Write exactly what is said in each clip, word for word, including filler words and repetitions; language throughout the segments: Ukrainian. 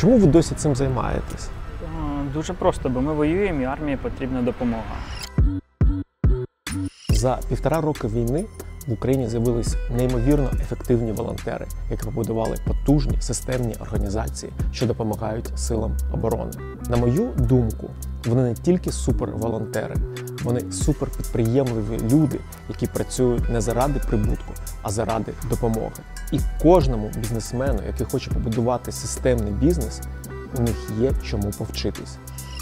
Чому ви досі цим займаєтесь? Дуже просто, бо ми воюємо і армії потрібна допомога. За півтора роки війни в Україні з'явились неймовірно ефективні волонтери, які побудували потужні системні організації, що допомагають силам оборони. На мою думку, вони не тільки суперволонтери, вони суперпідприємливі люди, які працюють не заради прибутку, а заради допомоги. І кожному бізнесмену, який хоче побудувати системний бізнес, у них є чому повчитись.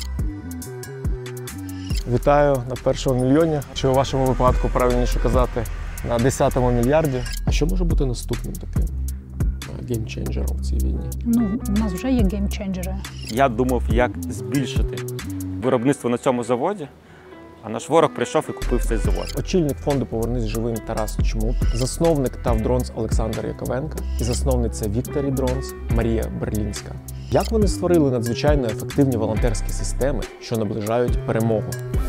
Вітаю на першому мільйоні, чи у вашому випадку правильніше казати на десятому мільярді. А що може бути наступним таким геймченджером в цій війні? Ну, у нас вже є геймченджери. Я думав, як збільшити виробництво на цьому заводі, а наш ворог прийшов і купив цей завод. Очільник фонду «Повернись живим» Тарас Чмут, засновник Tough Drones Олександр Яковенко і засновниця Victory Drones Марія Берлінська. Як вони створили надзвичайно ефективні волонтерські системи, що наближають перемогу?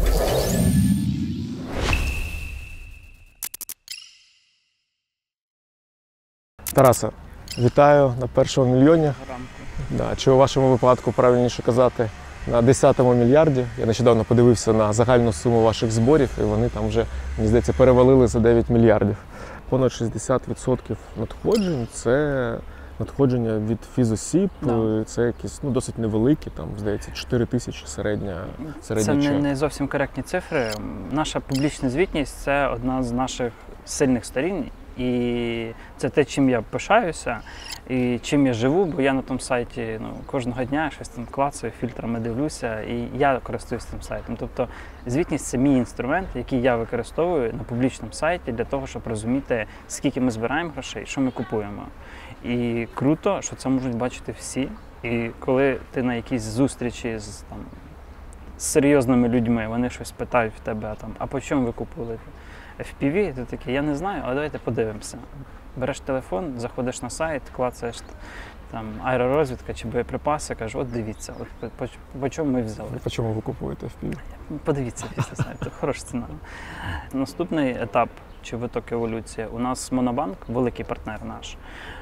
Тарасе, вітаю на першому мільйоні. Да, чи у вашому випадку правильніше казати на десятому мільярді. Я нещодавно подивився на загальну суму ваших зборів, і вони там вже, мені здається, перевалили за дев'ять мільярдів. Понад шістдесят відсотків надходжень – це надходження від фізосіб, Да. Це якісь ну, досить невеликі, там, здається, чотири тисячі середня, середня Це не, чек. не зовсім коректні цифри. Наша публічна звітність – це одна з наших сильних сторін. І це те, чим я пишаюся і чим я живу, бо я на тому сайті ну, кожного дня щось там клацаю, фільтрами дивлюся, і я користуюсь цим сайтом. Тобто звітність – це мій інструмент, який я використовую на публічному сайті для того, щоб розуміти, скільки ми збираємо грошей, що ми купуємо. І круто, що це можуть бачити всі. І коли ти на якійсь зустрічі з, там, з серйозними людьми, вони щось питають в тебе, там, а по чому ви купили еф пі ві, ти такий, я не знаю, але давайте подивимося. Береш телефон, заходиш на сайт, клацаєш там аеророзвідка чи боєприпаси, кажеш, от дивіться, от по, по, по чому ми взяли. По чому ви купуєте еф пі ві? Подивіться після сайту, хороша ціна. Наступний етап чи виток еволюції. У нас Монобанк, великий партнер наш,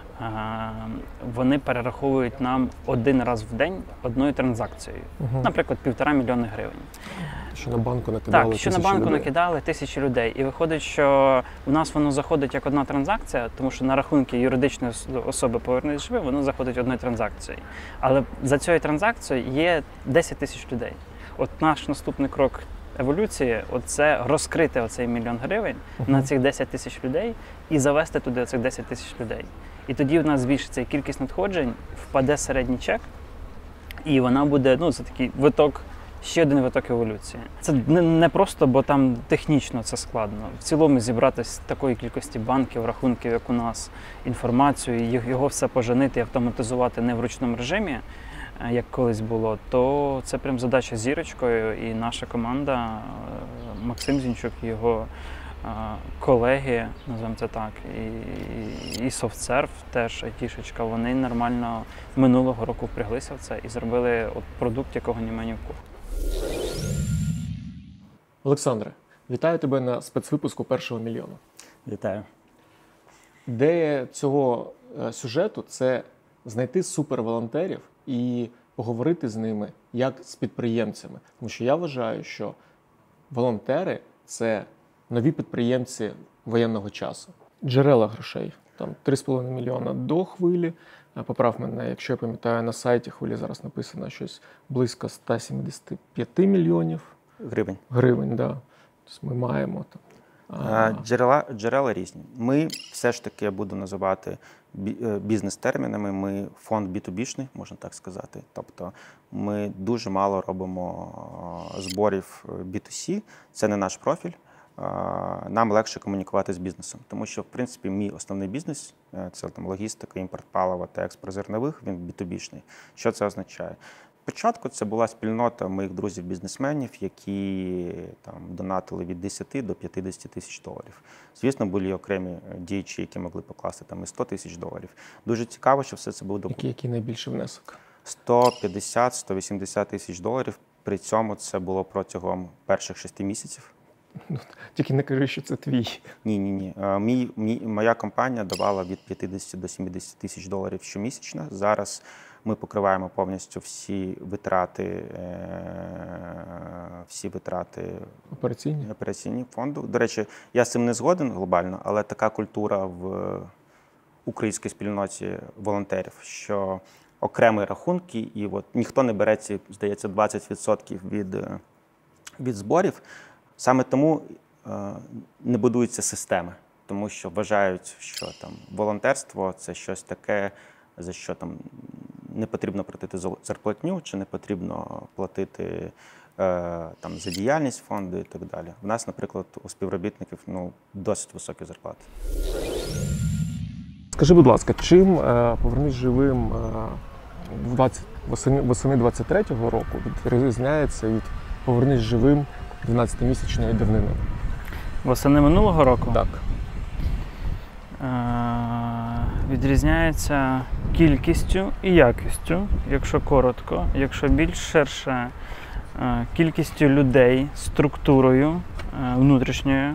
вони перераховують нам один раз в день одною транзакцією. Угу. Наприклад, півтора мільйони гривень. Що на банку накидали Так, що тисячі на банку людей. накидали тисячі людей. І виходить, що у нас воно заходить як одна транзакція, тому що на рахунки юридичної особи «Повернись живим» воно заходить одною транзакцією. Але за цією транзакцією є десять тисяч людей. От наш наступний крок еволюції – це розкрити оцей мільйон гривень uh-huh. на цих десять тисяч людей і завести туди цих десять тисяч людей. І тоді в нас збільшиться і кількість надходжень, впаде середній чек, і вона буде, ну, це такий виток, ще один виток еволюції. Це не, не просто, бо там технічно це складно. В цілому зібрати з такої кількості банків, рахунків, як у нас, інформацію, його все поженити і автоматизувати не в ручному режимі, як колись було, то це прям задача зірочкою, і наша команда, Максим Зінчук, його колеги, називаємо це так, і, і SoftServe теж айтішечка, вони нормально минулого року впряглися в це і зробили от продукт, якого немає ні в кого. Олександре, вітаю тебе на спецвипуску першого мільйону. Вітаю. Ідея цього сюжету – це знайти суперволонтерів і поговорити з ними як з підприємцями. Тому що я вважаю, що волонтери – це нові підприємці воєнного часу. Джерела грошей. Там три з половиною мільйона до хвилі. Поправ мене, якщо я пам'ятаю, на сайті хвилі зараз написано щось близько сто сімдесят п'ять мільйонів. Гривень. Гривень, так. Да. Тобто ми маємо там. А... Джерела, джерела різні. Ми все ж таки, я буду називати бізнес-термінами, ми фонд бі ту бі-шний, можна так сказати. Тобто ми дуже мало робимо зборів бі ту сі, це не наш профіль. Нам легше комунікувати з бізнесом, тому що, в принципі, мій основний бізнес – це там логістика, імпорт палива та експорт зернових, він бі ту бі-шний. Що це означає? Спочатку це була спільнота моїх друзів-бізнесменів, які там донатили від десяти до п'ятдесят тисяч доларів. Звісно, були окремі діячі, які могли покласти там і сто тисяч доларів. Дуже цікаво, що все це було... Який, який найбільший внесок? сто п'ятдесят - сто вісімдесят тисяч доларів. При цьому це було протягом перших шести місяців. Ну, тільки не кажи, що це твій. Ні, ні, ні. Мій, мій, моя компанія давала від п'ятдесят до сімдесят тисяч доларів щомісячно. Зараз Ми покриваємо повністю всі витрати, всі витрати Операційні? операційні фонду. До речі, я з цим не згоден глобально, але така культура в українській спільноті волонтерів, що окремі рахунки, і от ніхто не бере ці, здається, двадцять відсотків від, від зборів. Саме тому е, не будуються системи, тому що вважають, що там волонтерство – це щось таке, за що там не потрібно платити зарплатню, чи не потрібно платити е, там, за діяльність фонду і так далі. В нас, наприклад, у співробітників ну, досить високі зарплати. Скажи, будь ласка, чим е, «Повернись живим» е, двадцять, восени, восени двадцять третього року відрізняється від «Повернись живим» дванадцятимісячної давнини? Восени минулого року? Так. Е, відрізняється кількістю і якістю, якщо коротко, якщо більш ширше, е, кількістю людей, структурою е, внутрішньою,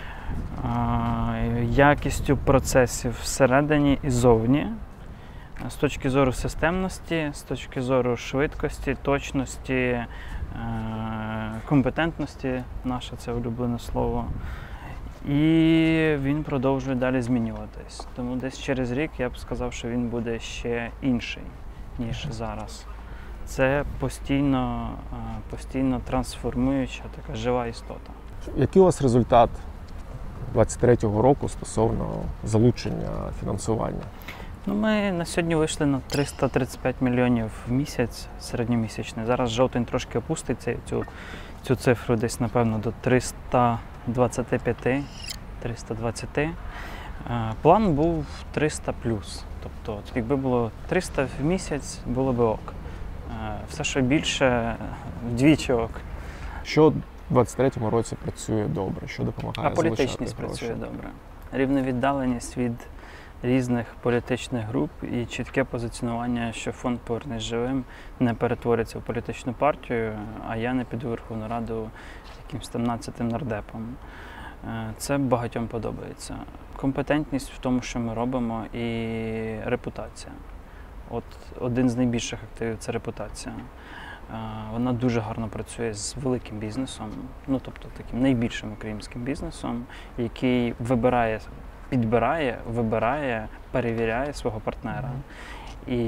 якістю процесів всередині і зовні, з точки зору системності, з точки зору швидкості, точності, компетентності, наше це улюблене слово. І він продовжує далі змінюватись. Тому десь через рік я б сказав, що він буде ще інший, ніж зараз. Це постійно, постійно трансформуюча така жива істота. Який у вас результат двадцять третього року стосовно залучення фінансування? Ну, ми на сьогодні вийшли на триста тридцять п'ять мільйонів в місяць середньомісячний. Зараз жовтень трошки опуститься цю, цю цифру десь, напевно, до триста двадцять п'ять - триста двадцять. План був триста плюс. Тобто, якби було триста в місяць, було би ок. Все, що більше, вдвічі ок. Що в двадцять третьому році працює добре? Що допомагає А залучати політичність гроші? працює добре. Рівна віддаленість від різних політичних груп і чітке позиціонування, що фонд «Повернись живим» не перетвориться в політичну партію, а я не піду в Верховну Раду якимсь там нацятим нардепом. Це багатьом подобається. Компетентність в тому, що ми робимо, і репутація. От один з найбільших активів – це репутація. Вона дуже гарно працює з великим бізнесом, ну тобто таким найбільшим українським бізнесом, який вибирає, підбирає, вибирає, перевіряє свого партнера. І,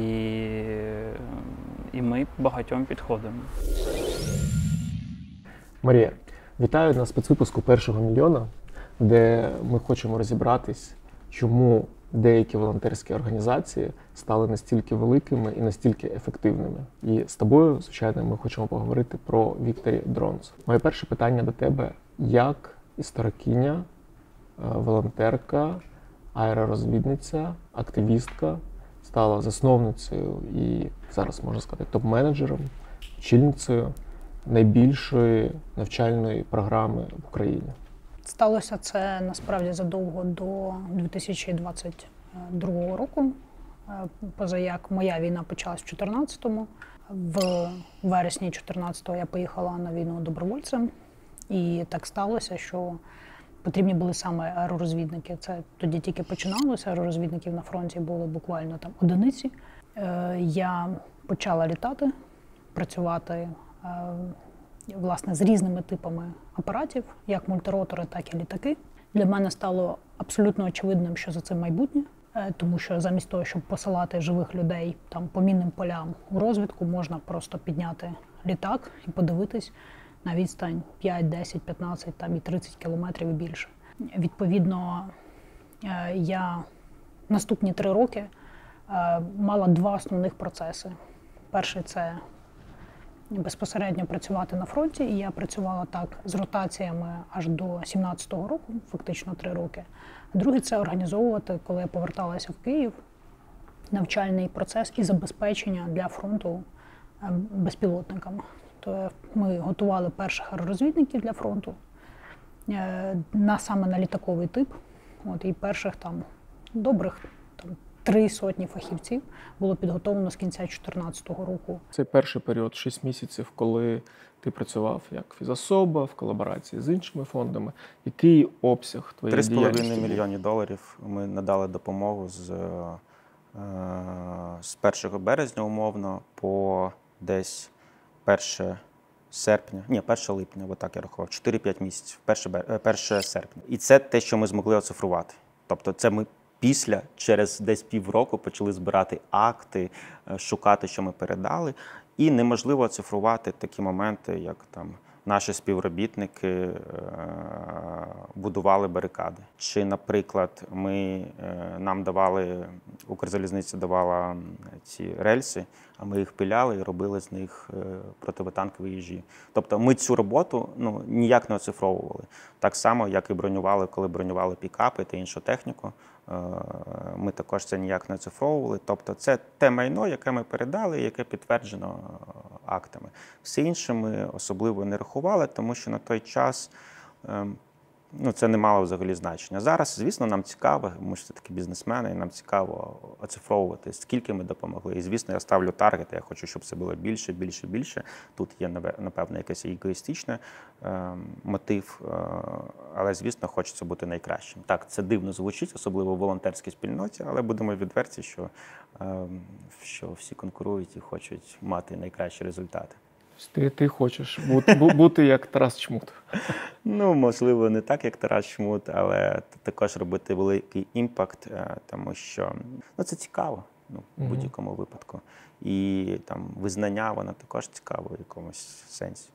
і ми багатьом підходимо. Марія, вітаю на спецвипуску «Першого мільйона», де ми хочемо розібратись, чому деякі волонтерські організації стали настільки великими і настільки ефективними. І з тобою, звичайно, ми хочемо поговорити про Victory Drones. Моє перше питання до тебе. Як історикиня, волонтерка, аеророзвідниця, активістка стала засновницею і, зараз можна сказати, топ-менеджером, очільницею найбільшої навчальної програми в Україні? Сталося це насправді задовго до дві тисячі двадцять другого року. Поза як моя війна почалась в чотирнадцятому. В вересні чотирнадцятого я поїхала на війну добровольцем. І так сталося, що потрібні були саме аеророзвідники. Це тоді тільки починалося, аеророзвідників на фронті були буквально там одиниці. Я почала літати, працювати власне з різними типами апаратів, як мультиротори, так і літаки. Для мене стало абсолютно очевидним, що за цим майбутнє, тому що замість того, щоб посилати живих людей там по мінним полям у розвідку, можна просто підняти літак і подивитись на відстань п'ять, десять, п'ятнадцять там і тридцять кілометрів і більше. Відповідно, я наступні три роки мала два основних процеси. Перший – це безпосередньо працювати на фронті, і я працювала так з ротаціями аж до сімнадцятого року, фактично три роки. А другий – це організовувати, коли я поверталася в Київ, навчальний процес і забезпечення для фронту безпілотниками. То ми готували перших аеророзвідників для фронту, на, саме на літаковий тип. От, і перших там добрих там, три сотні фахівців було підготовлено з кінця дві тисячі чотирнадцятого року. Цей перший період, шість місяців, коли ти працював як фізособа в колаборації з іншими фондами. Який обсяг твоєї діяльності? три з половиною мільйони доларів ми надали допомогу з з першого березня умовно по десь перше серпня, ні, перше липня, бо так я рахував, чотири-п'ять місяців, перше серпня. І це те, що ми змогли оцифрувати. Тобто це ми після, через десь півроку почали збирати акти, шукати, що ми передали. І неможливо оцифрувати такі моменти, як там наші співробітники будували барикади. Чи, наприклад, ми, нам давали, Укрзалізниця давала ці рельси, а ми їх пиляли і робили з них противотанкові їжі. Тобто ми цю роботу ну, ніяк не оцифровували. Так само, як і бронювали, коли бронювали пікапи та іншу техніку. Ми також це ніяк не оцифровували. Тобто це те майно, яке ми передали, яке підтверджено актами. Все інше ми особливо не рахували, тому що на той час ну, це не мало взагалі значення. Зараз, звісно, нам цікаво, ми ж все-таки бізнесмени, і нам цікаво оцифровувати, скільки ми допомогли. І, звісно, я ставлю таргет, я хочу, щоб це було більше, більше, більше. Тут є, напевно, якийсь егоїстичний е, мотив, е, але, звісно, хочеться бути найкращим. Так, це дивно звучить, особливо в волонтерській спільноті, але будемо відверті, що, е, що всі конкурують і хочуть мати найкращі результати. Ти, ти хочеш бути, бути як Тарас Чмут. Ну, можливо, не так, як Тарас Чмут, але також робити великий імпакт, тому що ну, це цікаво ну, в будь-якому випадку. І там визнання, воно також цікаво в якомусь сенсі.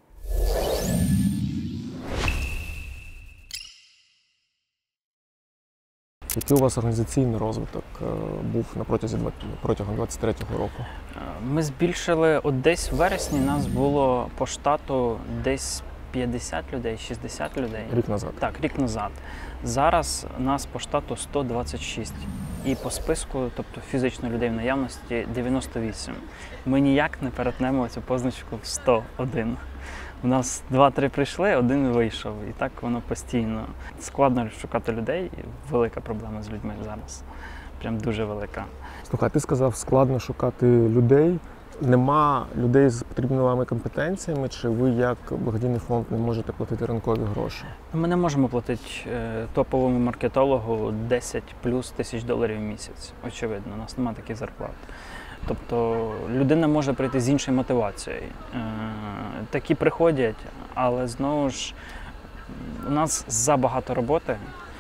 Який у вас організаційний розвиток був на протязі, протягом двадцять третього року? Ми збільшили, от десь в вересні нас було по штату десь п'ятдесят людей, шістдесят людей. Рік назад? Так, рік назад. Зараз нас по штату сто двадцять шість. І по списку, тобто фізично людей в наявності, дев'яносто вісім. Ми ніяк не перетнемо цю позначку в сто один. У нас два-три прийшли, один вийшов. І так воно постійно. Складно шукати людей, велика проблема з людьми зараз. Прям дуже велика. Слухай, ти сказав, складно шукати людей. Нема людей з потрібними вам компетенціями, чи ви як благодійний фонд не можете платити ринкові гроші? Ми не можемо платити топовому маркетологу десять плюс тисяч доларів в місяць. Очевидно, у нас немає таких зарплат. Тобто людина може прийти з іншою мотивацією. Такі приходять, але знову ж у нас забагато роботи.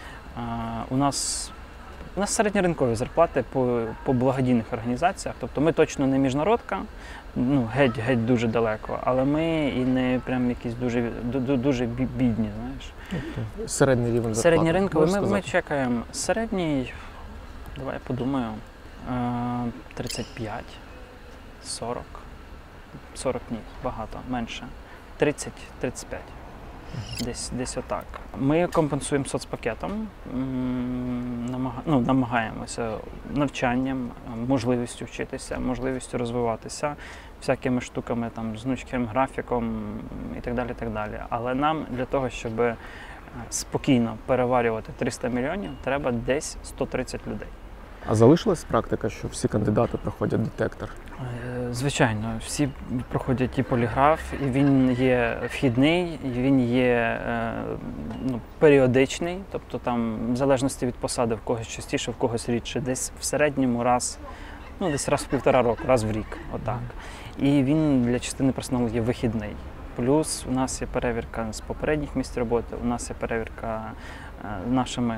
У нас, у нас середньоринкові зарплати по, по благодійних організаціях. Тобто ми точно не міжнародка, ну, геть-геть дуже далеко, але ми і не прям якісь дуже, дуже бідні, знаєш. Тобто середній рівень зарплати? Середній ринковий. Ми, ми чекаємо середній, давай я подумаю, тридцять п'ять, сорок, сорок ні, багато, менше, тридцять - тридцять п'ять, десь, десь отак. Ми компенсуємо соцпакетом, намага, ну, намагаємося навчанням, можливістю вчитися, можливістю розвиватися, всякими штуками, там, з гнучким графіком і так далі, так далі. Але нам для того, щоб спокійно переварювати триста мільйонів, треба десь сто тридцять людей. А залишилась практика, що всі кандидати проходять детектор? Звичайно, всі проходять і поліграф, і він є вхідний, і він є ну, періодичний, тобто там в залежності від посади в когось частіше, в когось рідше, десь в середньому раз, ну десь раз в півтора року, раз в рік, отак. І він для частини персоналу є вихідний. Плюс у нас є перевірка з попередніх місць роботи, у нас є перевірка нашими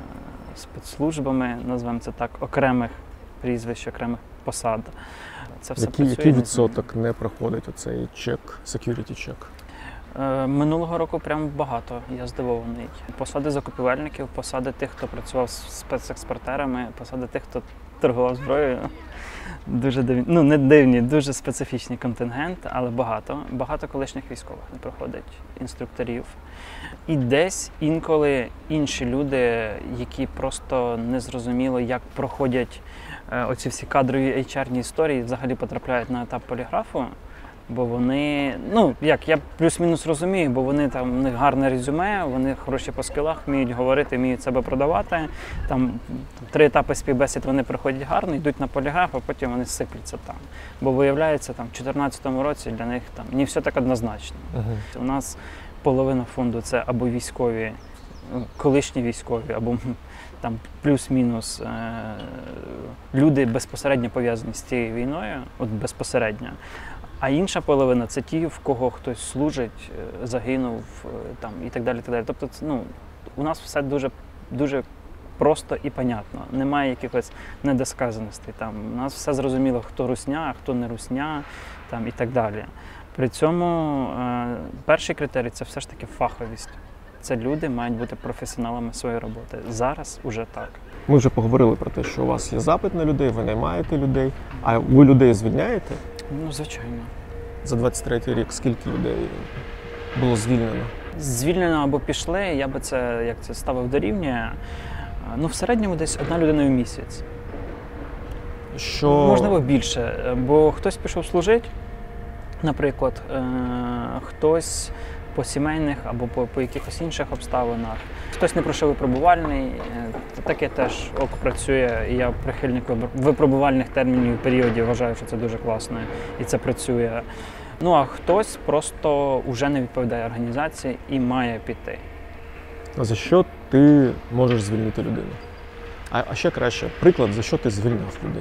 спецслужбами, називаємо це так, окремих прізвищ, окремих посад. Це все який, працює. який відсоток не проходить оцей чек, security чек? Минулого року прям багато, я здивований. Посади закупівельників, посади тих, хто працював з спецекспортерами, посади тих, хто торгував зброєю. Дуже дивні, ну не дивні, дуже специфічний контингент, але багато. Багато колишніх військових не проходить, інструкторів. І десь інколи інші люди, які просто не зрозуміло, як проходять оці всі кадрові ейч ар-ні історії, взагалі потрапляють на етап поліграфу, бо вони, ну як, я плюс-мінус розумію, бо вони там, у них гарне резюме, вони хороші по скілах, вміють говорити, вміють себе продавати. Там три етапи співбесід вони проходять гарно, йдуть на поліграф, а потім вони сипляться там. Бо виявляється, там в дві тисячі чотирнадцятому році для них там не все так однозначно. Uh-huh. У нас половина фонду це або військові, колишні військові, або там плюс-мінус е, люди безпосередньо пов'язані з цією війною, от безпосередньо. А інша половина – це ті, в кого хтось служить, загинув там, і так далі. Так далі. Тобто, ну, у нас все дуже, дуже просто і понятно. Немає якихось недосказаностей. Там. У нас все зрозуміло, хто русня, а хто не русня там, і так далі. При цьому е, перший критерій – це все ж таки фаховість. Це люди мають бути професіоналами своєї роботи. Зараз уже так. Ми вже поговорили про те, що у вас є запит на людей, ви наймаєте людей, а ви людей звільняєте? Ну, звичайно. За двадцять третій рік скільки людей було звільнено? Звільнено або пішли, я би це, як це ставив дорівнює, ну, в середньому десь одна людина в місяць. Що... Можливо, більше, бо хтось пішов служити, наприклад, е- хтось по сімейних або по, по якихось інших обставинах. Хтось не пройшов випробувальний, таке теж ок працює, і я прихильник випробувальних термінів і періодів, вважаю, що це дуже класно і це працює. Ну а хтось просто вже не відповідає організації і має піти. А за що ти можеш звільнити людину? А, а ще краще, приклад, за що ти звільняв людину?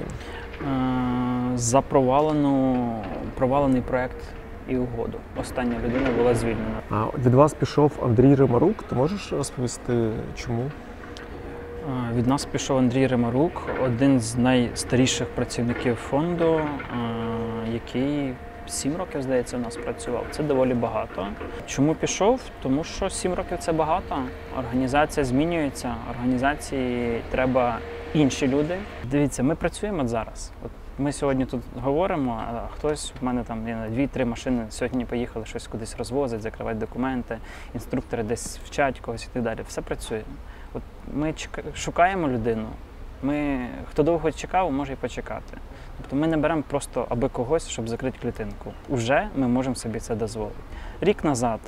Е, за провалену, провалений проєкт і угоду. Остання людина була звільнена. А від вас пішов Андрій Римарук. Ти можеш розповісти, чому? Від нас пішов Андрій Римарук, один з найстаріших працівників фонду, який сім років, здається, у нас працював. Це доволі багато. Чому пішов? Тому що сім років – це багато. Організація змінюється, організації треба інші люди. Дивіться, ми працюємо от зараз. От ми сьогодні тут говоримо, а хтось, в мене там дві-три машини сьогодні поїхали щось кудись розвозити, закривати документи, інструктори десь вчать когось і так далі. Все працює. От ми шукаємо людину, ми, хто довго чекав, може і почекати. Тобто ми не беремо просто аби когось, щоб закрити клітинку. Уже ми можемо собі це дозволити. Рік назад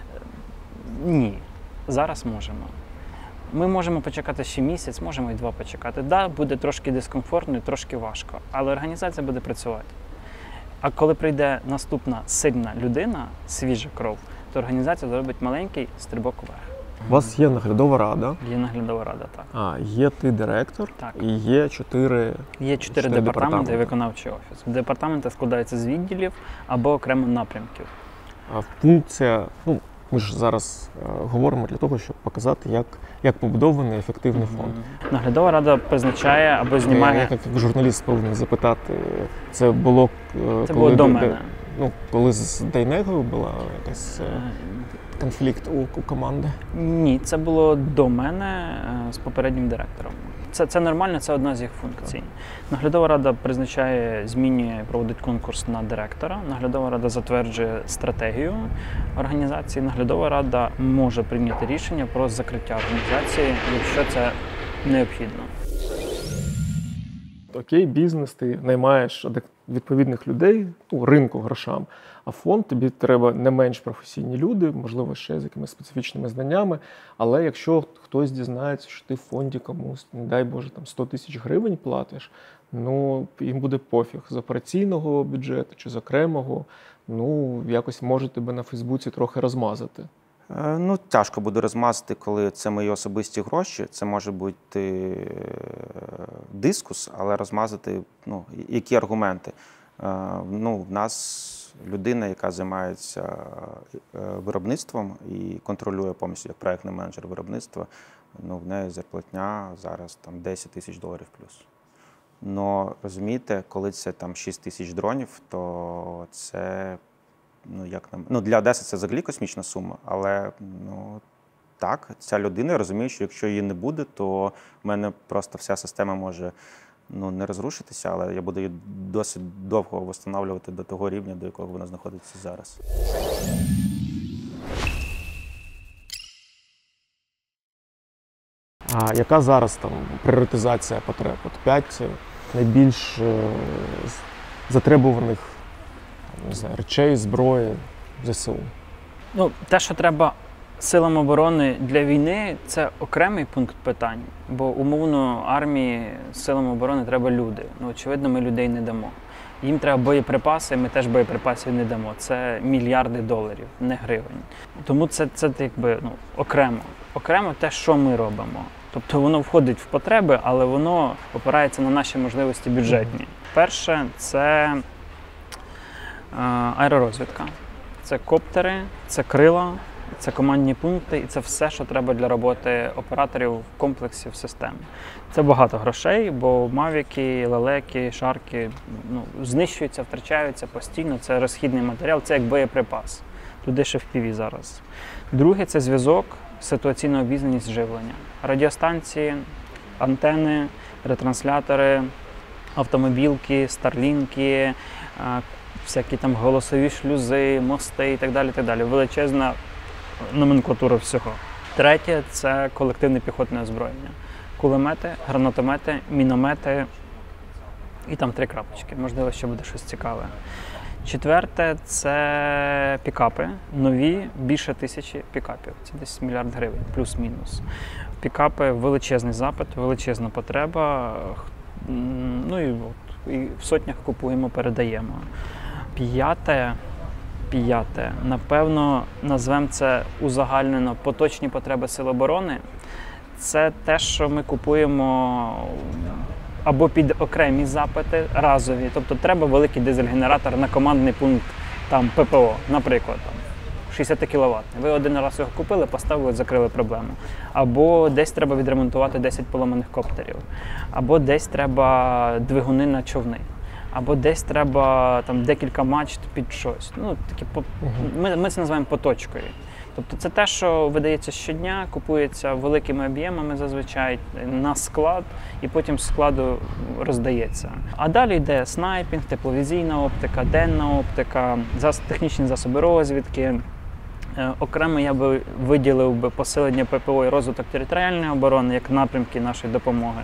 – ні, зараз можемо. Ми можемо почекати ще місяць, можемо і два почекати. Так, да, буде трошки дискомфортно, трошки важко, але організація буде працювати. А коли прийде наступна сильна людина, свіжа кров, то організація зробить маленький стрибок вверх. У вас є наглядова рада. Є наглядова рада, так. А, є ти директор, так. І є чотири Є чотири департаменти і виконавчий офіс. Департаменти складаються з відділів або окремо напрямків. А функція, ну, ми ж зараз е, говоримо для того, щоб показати, як, як побудований ефективний фонд. Mm-hmm. Наглядова рада призначає або знімає... Я, як журналіст повинен запитати, це було... Це коли, було до мене. Ну, коли з Дейнегою була якась... Е, конфлікт у, у команди? Ні, це було до мене з попереднім директором. Це, це нормально, це одна з їх функцій. Наглядова рада призначає, змінює, проводить конкурс на директора. Наглядова рада затверджує стратегію організації. Наглядова рада може прийняти рішення про закриття організації, якщо це необхідно. Окей, бізнес, ти наймаєш відповідних людей, ну, ринку грошам, а фонд тобі треба не менш професійні люди, можливо, ще з якимись специфічними знаннями, але якщо хтось дізнається, що ти в фонді комусь, не дай Боже, там сто тисяч гривень платиш, ну, їм буде пофіг з операційного бюджету чи з окремого, ну, якось може тебе на Фейсбуці трохи розмазати. Ну, тяжко буде розмазати, коли це мої особисті гроші. Це може бути дискус, але розмазати, ну, які аргументи. Ну, в нас людина, яка займається виробництвом і контролює повністю як проєктний менеджер виробництва, ну, в неї зарплатня зараз там десять тисяч доларів плюс. Но, розумієте, коли це там шість тисяч дронів, то це... Ну, як нам... ну, для Одеси це взагалі космічна сума, але ну, так, ця людина розуміє, що якщо її не буде, то в мене просто вся система може ну, не розрушитися, але я буду її досить довго встановлювати до того рівня, до якого вона знаходиться зараз. А яка зараз там пріоритизація потреб? От п'ять найбільш затребуваних не знаю, речей, зброї, ЗСУ? Ну, те, що треба силам оборони для війни, це окремий пункт питань. Бо умовно армії, силам оборони треба люди. Ну, очевидно, ми людей не дамо. Їм треба боєприпаси, ми теж боєприпасів не дамо. Це мільярди доларів, не гривень. Тому це, це якби, ну, окремо. Окремо те, що ми робимо. Тобто воно входить в потреби, але воно опирається на наші можливості бюджетні. Перше – це аеророзвідка. Це коптери, це крила, це командні пункти і це все, що треба для роботи операторів в комплексі, в системі. Це багато грошей, бо мавіки, лелеки, шарки ну, знищуються, втрачаються постійно. Це розхідний матеріал, це як боєприпас. Туди ще в пі ві зараз. Друге – це зв'язок, ситуаційна обізнаність, живлення. Радіостанції, антени, ретранслятори, автомобілки, старлінки, всякі там голосові шлюзи, мости і так далі, так далі. Величезна номенклатура всього. Третє – це колективне піхотне озброєння. Кулемети, гранатомети, міномети і там три крапочки. Можливо, ще буде щось цікаве. Четверте – це пікапи. Нові, більше тисячі пікапів. Це десь мільярд гривень, плюс-мінус. Пікапи – величезний запит, величезна потреба. Ну і, от, і в сотнях купуємо, передаємо. П'яте, п'яте, напевно, назвемо це узагальнено поточні потреби Сил оборони. Це те, що ми купуємо або під окремі запити, разові. Тобто треба великий дизель-генератор на командний пункт там, пе пе о, наприклад, там, шістдесят кіловатний. Ви один раз його купили, поставили, закрили проблему. Або десь треба відремонтувати десять поламаних коптерів. Або десь треба двигуни на човни. Або десь треба там, декілька мачт під щось. Ну, такі, ми, ми це називаємо поточкою. Тобто це те, що видається щодня, купується великими об'ємами зазвичай на склад і потім з складу роздається. А далі йде снайпінг, тепловізійна оптика, денна оптика, технічні засоби розвідки. Окремо я би виділив би посилення пе пе о і розвиток територіальної оборони як напрямки нашої допомоги.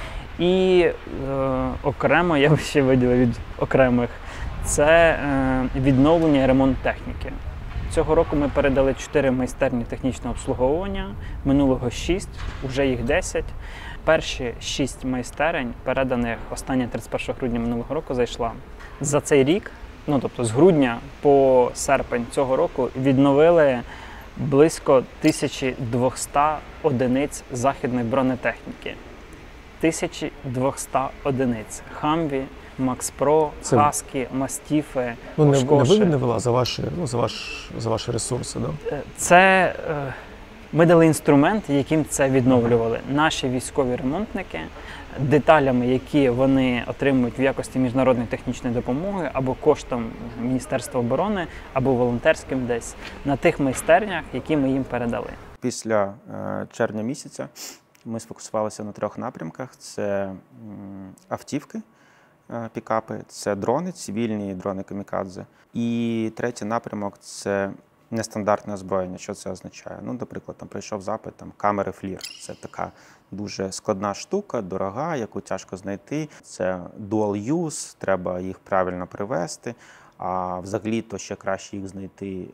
І е, окремо я б ще виділив від окремих – це е, відновлення і ремонт техніки. Цього року ми передали чотири майстерні технічного обслуговування, минулого шість, вже їх десять. Перші шість майстерень, переданих останнє тридцять першого грудня минулого року, зайшла. За цей рік, ну тобто з грудня по серпень цього року, відновили близько тисяча двісті одиниць західної бронетехніки. тисяча двісті одиниць. Хамві, Макс Про, Це... Хаскі, Мастіфи, ну, не, Ошкоші. Не ви відновила за ваші, ну, за, ваш, за ваші ресурси, да? Це е, ми дали інструмент, яким це відновлювали. Наші військові ремонтники, деталями, які вони отримують в якості міжнародної технічної допомоги або коштом Міністерства оборони, або волонтерським десь, на тих майстернях, які ми їм передали. Після е, червня місяця ми сфокусувалися на трьох напрямках. Це м, автівки, е, пікапи, це дрони, цивільні дрони камікадзе. І третій напрямок – це нестандартне озброєння. Що це означає? Ну, наприклад, там прийшов запит, там, камери флір. Це така дуже складна штука, дорога, яку тяжко знайти. Це dual use, треба їх правильно привести. А взагалі-то ще краще їх знайти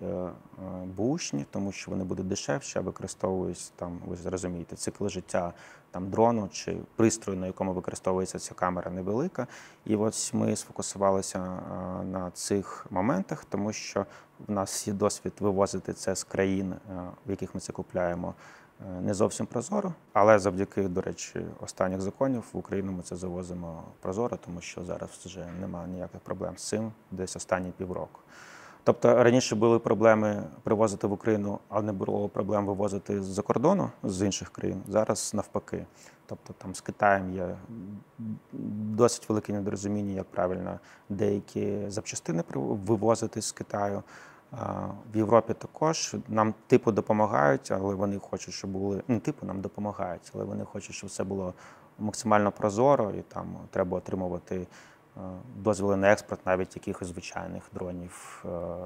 бушні, тому що вони будуть дешевші, а використовують, там, ви зрозумієте, цикл життя там, дрону чи пристрою, на якому використовується ця камера, невелика. І ось ми сфокусувалися на цих моментах, тому що в нас є досвід вивозити це з країн, в яких ми це купляємо, не зовсім прозоро, але завдяки, до речі, останніх законів в Україну ми це завозимо прозоро, тому що зараз вже немає ніяких проблем з цим, десь останні півроку. Тобто раніше були проблеми привозити в Україну, а не було проблем вивозити з-за кордону, з інших країн. Зараз навпаки. Тобто там з Китаєм є досить велике недорозуміння, як правильно деякі запчастини вивозити з Китаю. В Європі також нам типу допомагають, але вони хочуть, щоб були, не типу нам допомагають, але вони хочуть, щоб все було максимально прозоро, і там треба отримувати дозволи на експорт навіть якихось звичайних дронів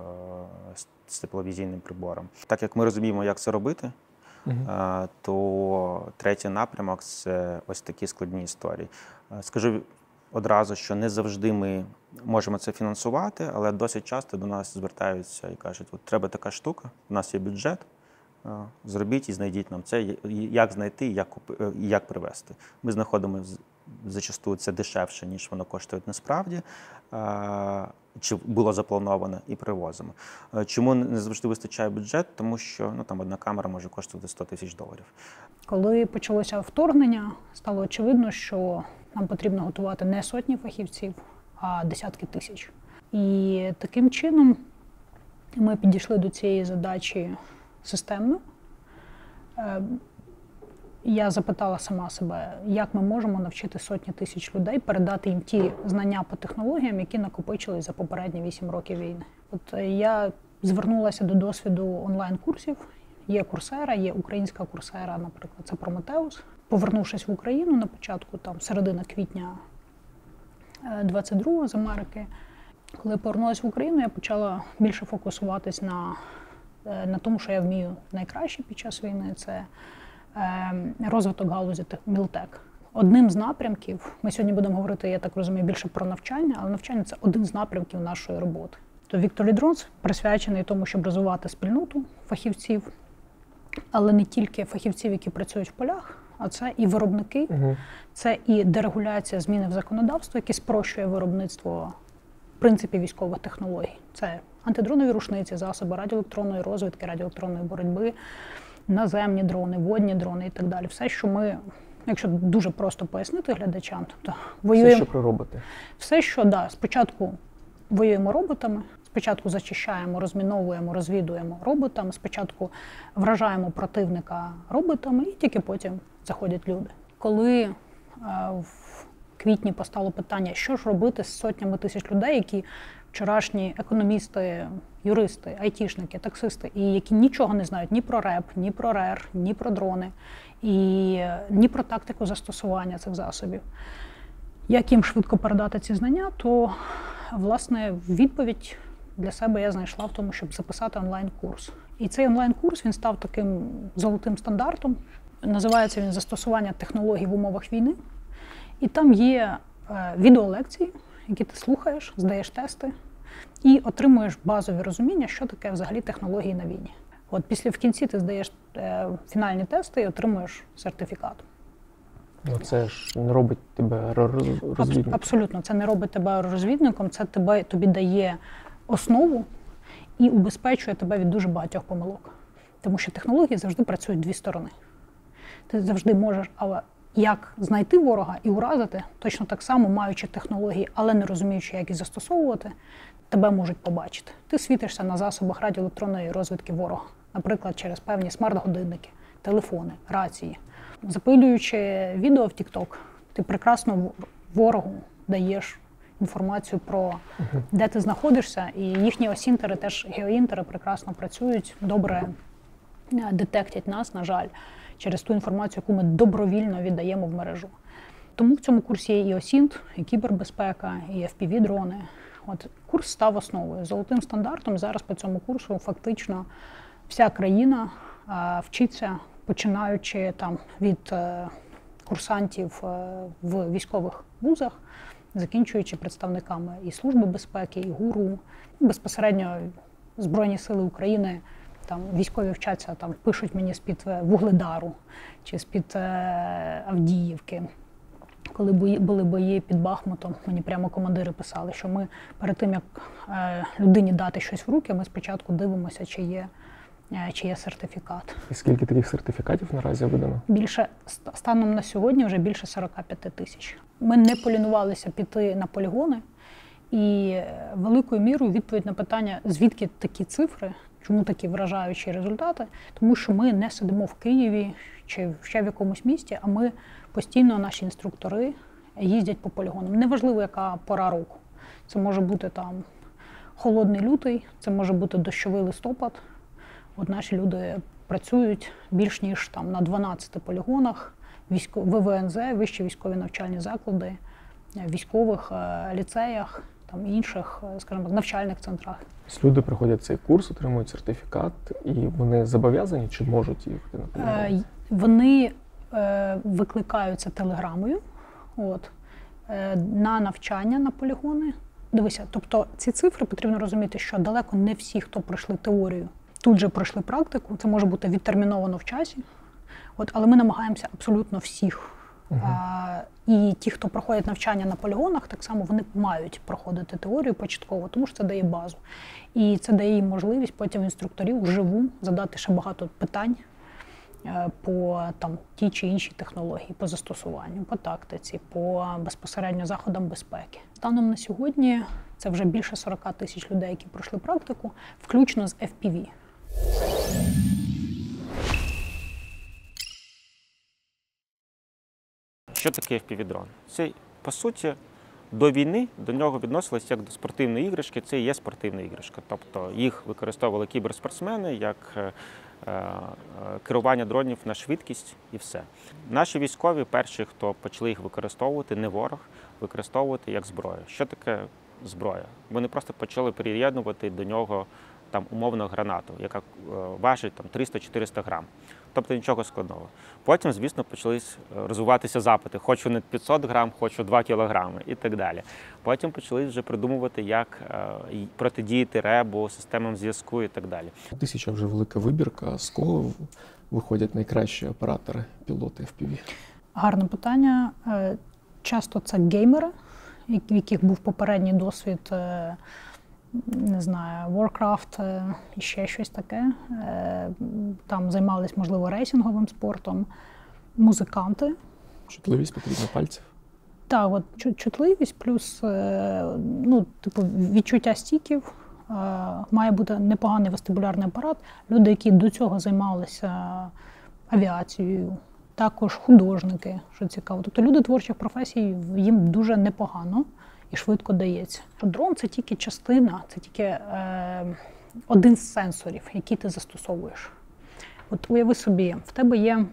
з тепловізійним прибором. Так як ми розуміємо, як це робити, uh-huh. то третій напрямок – це ось такі складні історії. Скажу одразу, що не завжди ми можемо це фінансувати, але досить часто до нас звертаються і кажуть, от треба така штука, у нас є бюджет, зробіть і знайдіть нам це, як знайти і як, як привезти. Ми знаходимо, зачасту це дешевше, ніж воно коштує насправді, чи було заплановано, і привозимо. Чому не завжди вистачає бюджет? Тому що ну, там одна камера може коштувати сто тисяч доларів. Коли почалося вторгнення, стало очевидно, що нам потрібно готувати не сотні фахівців, а десятки тисяч. І таким чином ми підійшли до цієї задачі системно. Я запитала сама себе, як ми можемо навчити сотні тисяч людей, передати їм ті знання по технологіям, які накопичились за попередні вісім років війни. От я звернулася до досвіду онлайн-курсів. Є Курсера, є українська Курсера, наприклад, це Прометеус. Повернувшись в Україну на початку, там, середина квітня двадцять другого з Америки, коли повернулася в Україну, я почала більше фокусуватись на, на тому, що я вмію найкраще під час війни. Це розвиток галузі Мілтек. Одним з напрямків, ми сьогодні будемо говорити, я так розумію, більше про навчання, але навчання – це один з напрямків нашої роботи. То Victory Drones присвячений тому, щоб розвивати спільноту фахівців, але не тільки фахівців, які працюють в полях, а це і виробники, угу. Це і дерегуляція зміни в законодавство, яке спрощує виробництво в принципі військових технологій. Це антидронові рушниці, засоби радіоелектронної розвідки, радіоелектронної боротьби, наземні дрони, водні дрони і так далі. Все, що ми, якщо дуже просто пояснити глядачам, тобто воюємо... Все, що про роботи. Все, що, да, спочатку воюємо роботами, спочатку зачищаємо, розміновуємо, розвідуємо роботами, спочатку вражаємо противника роботами і тільки потім заходять люди. Коли е, в квітні постало питання, що ж робити з сотнями тисяч людей, які вчорашні економісти, юристи, айтішники, таксисти, і які нічого не знають ні про РЕП, ні про РЕР, ні про дрони, і ні про тактику застосування цих засобів. Як їм швидко передати ці знання, то, власне, відповідь для себе я знайшла в тому, щоб записати онлайн-курс. І цей онлайн-курс, він став таким золотим стандартом. Називається він «Застосування технологій в умовах війни». І там є е, відеолекції, які ти слухаєш, здаєш тести і отримуєш базові розуміння, що таке взагалі технології на війні. От після в кінці ти здаєш е, фінальні тести і отримуєш сертифікат. Ну це ж не робить тебе розвідником. Абсолютно, це не робить тебе розвідником, це тебе, тобі дає основу і убезпечує тебе від дуже багатьох помилок. Тому що технології завжди працюють дві сторони. Ти завжди можеш, але як знайти ворога і уразити, точно так само, маючи технології, але не розуміючи, як їх застосовувати, тебе можуть побачити. Ти світишся на засобах радіоелектронної розвідки ворога, наприклад, через певні смарт-годинники, телефони, рації. Запилюючи відео в TikTok, ти прекрасно ворогу даєш інформацію про, де ти знаходишся, і їхні осінтери, теж геоінтери прекрасно працюють, добре детектять нас, на жаль, через ту інформацію, яку ми добровільно віддаємо в мережу. Тому в цьому курсі є і осінт, і кібербезпека, і еф пі ві-дрони. От курс став основою, золотим стандартом. Зараз по цьому курсу фактично вся країна а, вчиться, починаючи там від а, курсантів а, в військових вузах, закінчуючи представниками і Служби безпеки, і ГУРу, безпосередньо Збройні сили України. Там військові вчаться, там пишуть мені з-під Вугледару чи з-під Авдіївки. Коли були бої під Бахмутом, мені прямо командири писали, що ми перед тим, як людині дати щось в руки, ми спочатку дивимося, чи є, чи є сертифікат. І скільки таких сертифікатів наразі видано? Більше, станом на сьогодні вже більше сорок п'ять тисяч. Ми не полінувалися піти на полігони, і великою мірою відповідь на питання, звідки такі цифри, чому такі вражаючі результати? Тому що ми не сидимо в Києві чи ще в якомусь місті, а ми постійно, наші інструктори, їздять по полігонам. Неважливо, яка пора року. Це може бути там холодний лютий, це може бути дощовий листопад. От наші люди працюють більш ніж там на дванадцяти полігонах, ве вэ ен зе, вищі військові навчальні заклади, військових ліцеях, там інших, скажімо, навчальних центрах. Люди проходять цей курс, отримують сертифікат, і вони зобов'язані чи можуть їхати на полігон? Вони е, викликаються телеграмою от, е, на навчання на полігони. Дивися, тобто ці цифри потрібно розуміти, що далеко не всі, хто пройшли теорію, тут же пройшли практику. Це може бути відтерміновано в часі. От, але ми намагаємося абсолютно всіх Uh-huh. А, і ті, хто проходять навчання на полігонах, так само вони мають проходити теорію початково, тому що це дає базу. І це дає їм можливість потім інструкторів вживу задати ще багато питань по там, тій чи іншій технології, по застосуванню, по тактиці, по безпосередньо заходам безпеки. Станом на сьогодні це вже більше сорок тисяч людей, які пройшли практику, включно з еф пі ві. Що таке еф пі ві-дрон? Це, по суті, до війни до нього відносилось як до спортивної іграшки, це і є спортивна іграшка. Тобто їх використовували кіберспортсмени як керування дронів на швидкість і все. Наші військові перші, хто почали їх використовувати, не ворог, використовувати як зброю. Що таке зброя? Вони просто почали приєднувати до нього там умовно гранату, яка важить там триста-чотириста грам. Тобто нічого складного. Потім, звісно, почали розвиватися запити. Хочу не п'ятсот грам, хочу два кілограми і так далі. Потім почали вже придумувати, як протидіяти ребу, системам зв'язку і так далі. Тисяча вже велика вибірка. З кого виходять найкращі оператори, пілоти еф пі ві? Гарне питання. Часто це геймери, в яких був попередній досвід, не знаю, Warcraft і ще щось таке. Там займались, можливо, рейсинговим спортом. Музиканти. Чутливість потрібна пальців? Так, от чутливість плюс ну, типу, відчуття стіків. Має бути непоганий вестибулярний апарат. Люди, які до цього займалися авіацією. Також художники, що цікаво. Тобто люди творчих професій, їм дуже непогано і швидко дається. Дрон – це тільки частина, це тільки е, один з сенсорів, який ти застосовуєш. От уяви собі, в тебе є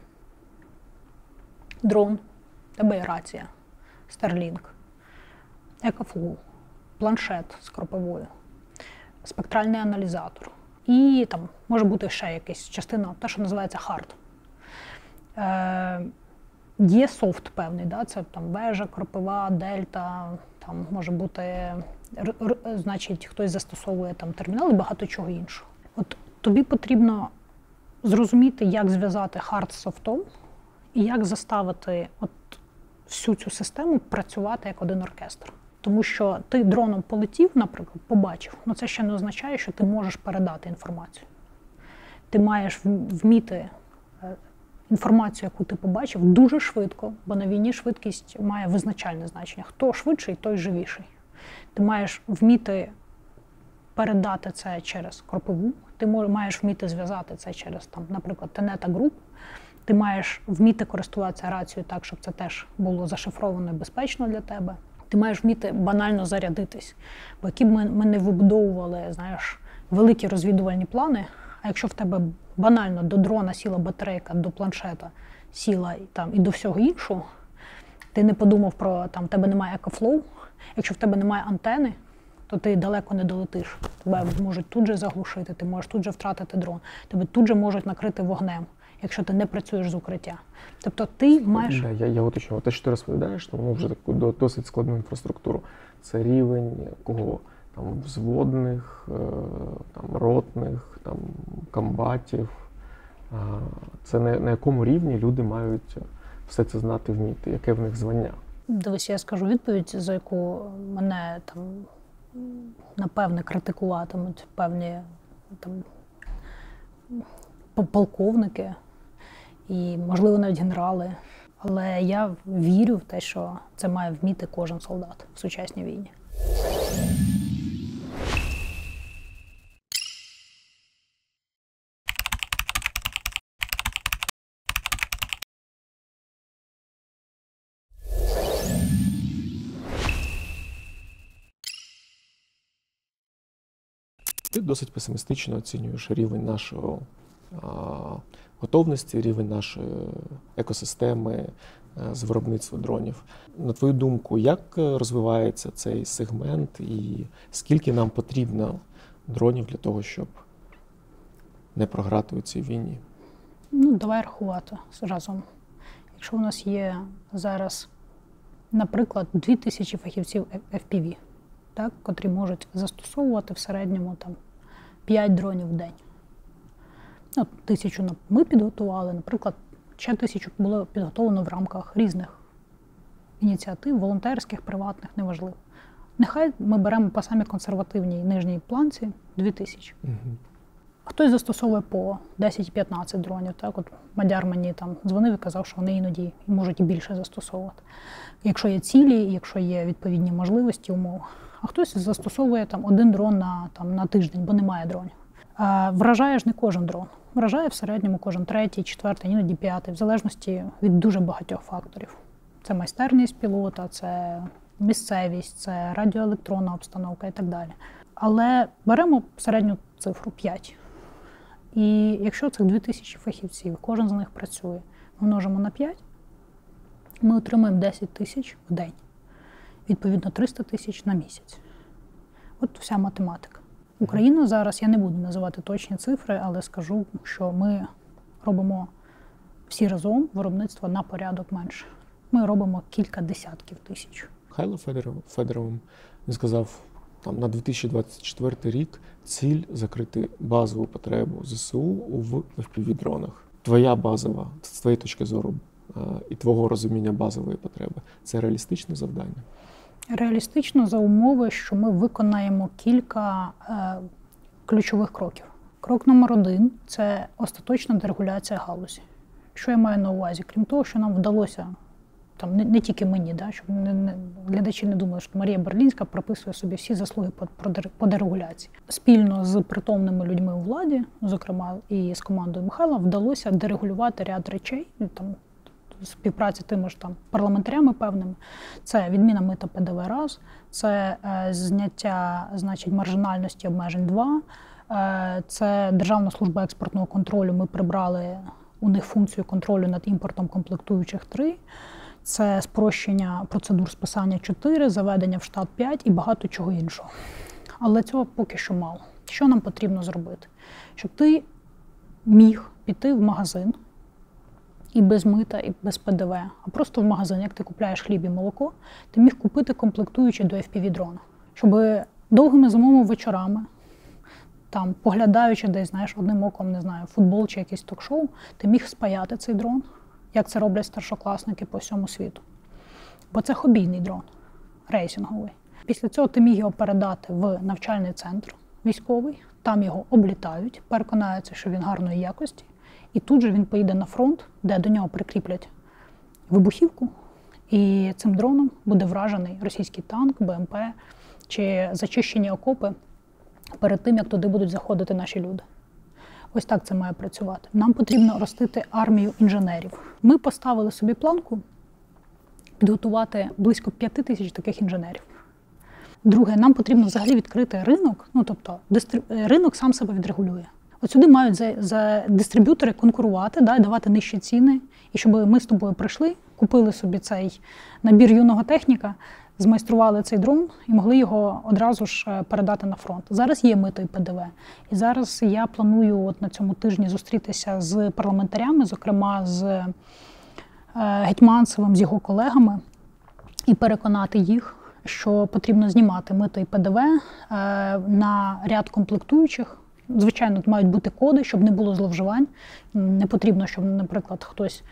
дрон, в тебе є рація, Starlink, екофлоу, планшет з кропивою, спектральний аналізатор. І там може бути ще якась частина, те, що називається хард. Е, є софт певний, да? Це там вежа, кропива, дельта, там може бути, р, р, значить, хтось застосовує там термінал і багато чого іншого. От тобі потрібно зрозуміти, як зв'язати хард з софтом і як заставити от всю цю систему працювати як один оркестр. Тому що ти дроном полетів, наприклад, побачив, але це ще не означає, що ти можеш передати інформацію. Ти маєш вміти інформацію, яку ти побачив, дуже швидко, бо на війні швидкість має визначальне значення. Хто швидший, той живіший. Ти маєш вміти передати це через кропиву, ти маєш вміти зв'язати це через, там, наприклад, Тенета Груп, ти маєш вміти користуватися рацією так, щоб це теж було зашифровано і безпечно для тебе. Ти маєш вміти банально зарядитись. Бо які б ми, ми не вибудовували, знаєш, великі розвідувальні плани, а якщо в тебе банально до дрона сіла батарейка, до планшета сіла там, і до всього іншого, ти не подумав про, там, тебе немає екофлоу, якщо в тебе немає антени, то ти далеко не долетиш. Тебе можуть тут же заглушити, ти можеш тут же втратити дрон, тебе тут же можуть накрити вогнем, якщо ти не працюєш з укриття. Тобто ти маєш... Да, я, я уточню. Те, що ти розповідаєш, то воно вже таку досить складну інфраструктуру. Це рівень кого? Там взводних, там ротних, там комбатів. Це на, на якому рівні люди мають все це знати, вміти, яке в них звання? Дивись, я скажу відповідь, за яку мене там, напевне, критикуватимуть певні там полковники і, можливо, навіть генерали. Але я вірю в те, що це має вміти кожен солдат в сучасній війні. Ти досить песимістично оцінюєш рівень нашого а, готовності, рівень нашої екосистеми а, з виробництва дронів. На твою думку, як розвивається цей сегмент і скільки нам потрібно дронів для того, щоб не програти у цій війні? Ну, давай рахувати разом. Якщо у нас є зараз, наприклад, дві тисячі фахівців еф пі ві, так, котрі можуть застосовувати в середньому там, п'ять дронів в день. Ну, тисячу ми підготували, наприклад, ще тисячу було підготовлено в рамках різних ініціатив, волонтерських, приватних, неважливо. Нехай ми беремо по самій консервативній нижній планці дві тисячі. Угу. Хтось застосовує по десять-п'ятнадцять дронів. Так? От Мадяр мені там дзвонив і казав, що вони іноді можуть і більше застосовувати. Якщо є цілі, якщо є відповідні можливості, умови. А хтось застосовує там один дрон на, там, на тиждень, бо немає дронів. А вражає ж не кожен дрон. Вражає в середньому кожен третій, четвертий, іноді п'ятий, в залежності від дуже багатьох факторів. Це майстерність пілота, це місцевість, це радіоелектронна обстановка і так далі. Але беремо середню цифру п'ять. І якщо цих дві тисячі фахівців, кожен з них працює, множимо на п'ять, ми отримуємо десять тисяч в день. Відповідно, триста тисяч на місяць. От вся математика. Україна зараз, я не буду називати точні цифри, але скажу, що ми робимо всі разом виробництво на порядок менше. Ми робимо кілька десятків тисяч. Михайло Федоров, Федоров він сказав, там, на дві тисячі двадцять четвертий рік ціль закрити базову потребу ЗСУ в еф пі ві-дронах. Твоя базова, з твоєї точки зору і твого розуміння базової потреби, це реалістичне завдання? Реалістично за умови, що ми виконаємо кілька е, ключових кроків. Крок номер один – це остаточна дерегуляція галузі. Що я маю на увазі? Крім того, що нам вдалося, там, не, не тільки мені, да, щоб не, не, глядачі не думали, що Марія Берлінська прописує собі всі заслуги по, по дерегуляції. Спільно з притомними людьми у владі, зокрема і з командою Михайла, вдалося дерегулювати ряд речей, там, співпраці тими ж там парламентарями певними. Це відміна мита пе де ве раз, це е, зняття, значить, маржинальності обмежень два, е, це Державна служба експортного контролю, ми прибрали у них функцію контролю над імпортом комплектуючих три, це спрощення процедур списання чотири, заведення в штат п'ять і багато чого іншого. Але цього поки що мало. Що нам потрібно зробити? Щоб ти міг піти в магазин, і без мита, і без пе де ве, а просто в магазин, як ти купляєш хліб і молоко, ти міг купити комплектуючі до еф пі ві-дрона. Щоб довгими зимовими вечорами, там, поглядаючи десь, знаєш, одним оком, не знаю, футбол чи якийсь ток-шоу, ти міг спаяти цей дрон, як це роблять старшокласники по всьому світу. Бо це хобійний дрон, рейсинговий. Після цього ти міг його передати в навчальний центр військовий, там його облітають, переконаються, що він гарної якості, і тут же він поїде на фронт, де до нього прикріплять вибухівку, і цим дроном буде вражений російський танк, бе ем пе чи зачищені окопи перед тим, як туди будуть заходити наші люди. Ось так це має працювати. Нам потрібно ростити армію інженерів. Ми поставили собі планку підготувати близько п'яти тисяч таких інженерів. Друге, нам потрібно взагалі відкрити ринок, ну тобто дистриб... ринок сам себе відрегулює. От сюди мають за, за дистриб'ютори конкурувати, да, давати нижчі ціни, і щоб ми з тобою прийшли, купили собі цей набір юного техніка, змайстрували цей дрон і могли його одразу ж передати на фронт. Зараз є мито і пе де ве. І зараз я планую от на цьому тижні зустрітися з парламентарями, зокрема з е, Гетьманцевим, з його колегами, і переконати їх, що потрібно знімати мито і пе де ве е, на ряд комплектуючих. Звичайно, мають бути коди, щоб не було зловживань. Не потрібно, щоб, наприклад, хтось,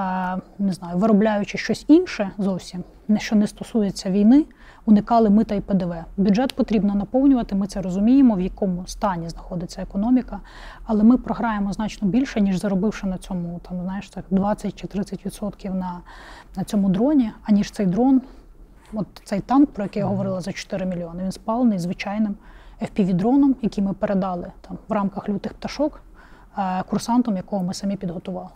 не знаю, виробляючи щось інше зовсім, що не стосується війни, уникали мита і пе де ве. Бюджет потрібно наповнювати, ми це розуміємо, в якому стані знаходиться економіка, але ми програємо значно більше, ніж заробивши на цьому, там, знаєш, так, двадцять чи тридцять відсотків на, на цьому дроні, аніж цей дрон, от цей танк, про який я говорила, за чотири мільйони, він спалений звичайним еф пі ві-дроном, який ми передали там, в рамках лютих пташок, курсантом, якого ми самі підготували.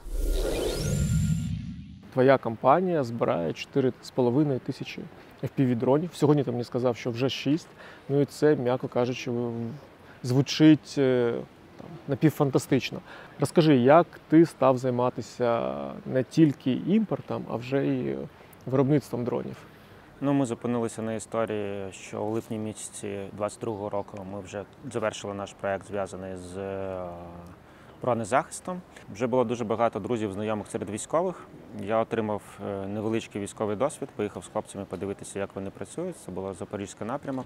Твоя компанія збирає чотири з половиною тисячі еф пі ві-дронів. Сьогодні ти мені сказав, що вже шість. Ну і це, м'яко кажучи, звучить там, напівфантастично. Розкажи, як ти став займатися не тільки імпортом, а вже й виробництвом дронів? Ну, ми зупинилися на історії, що у липні місяці двадцять другого року ми вже завершили наш проєкт, зв'язаний з бронезахистом. Вже було дуже багато друзів, знайомих серед військових. Я отримав невеличкий військовий досвід, поїхав з хлопцями подивитися, як вони працюють. Це було Запорізький напрямок.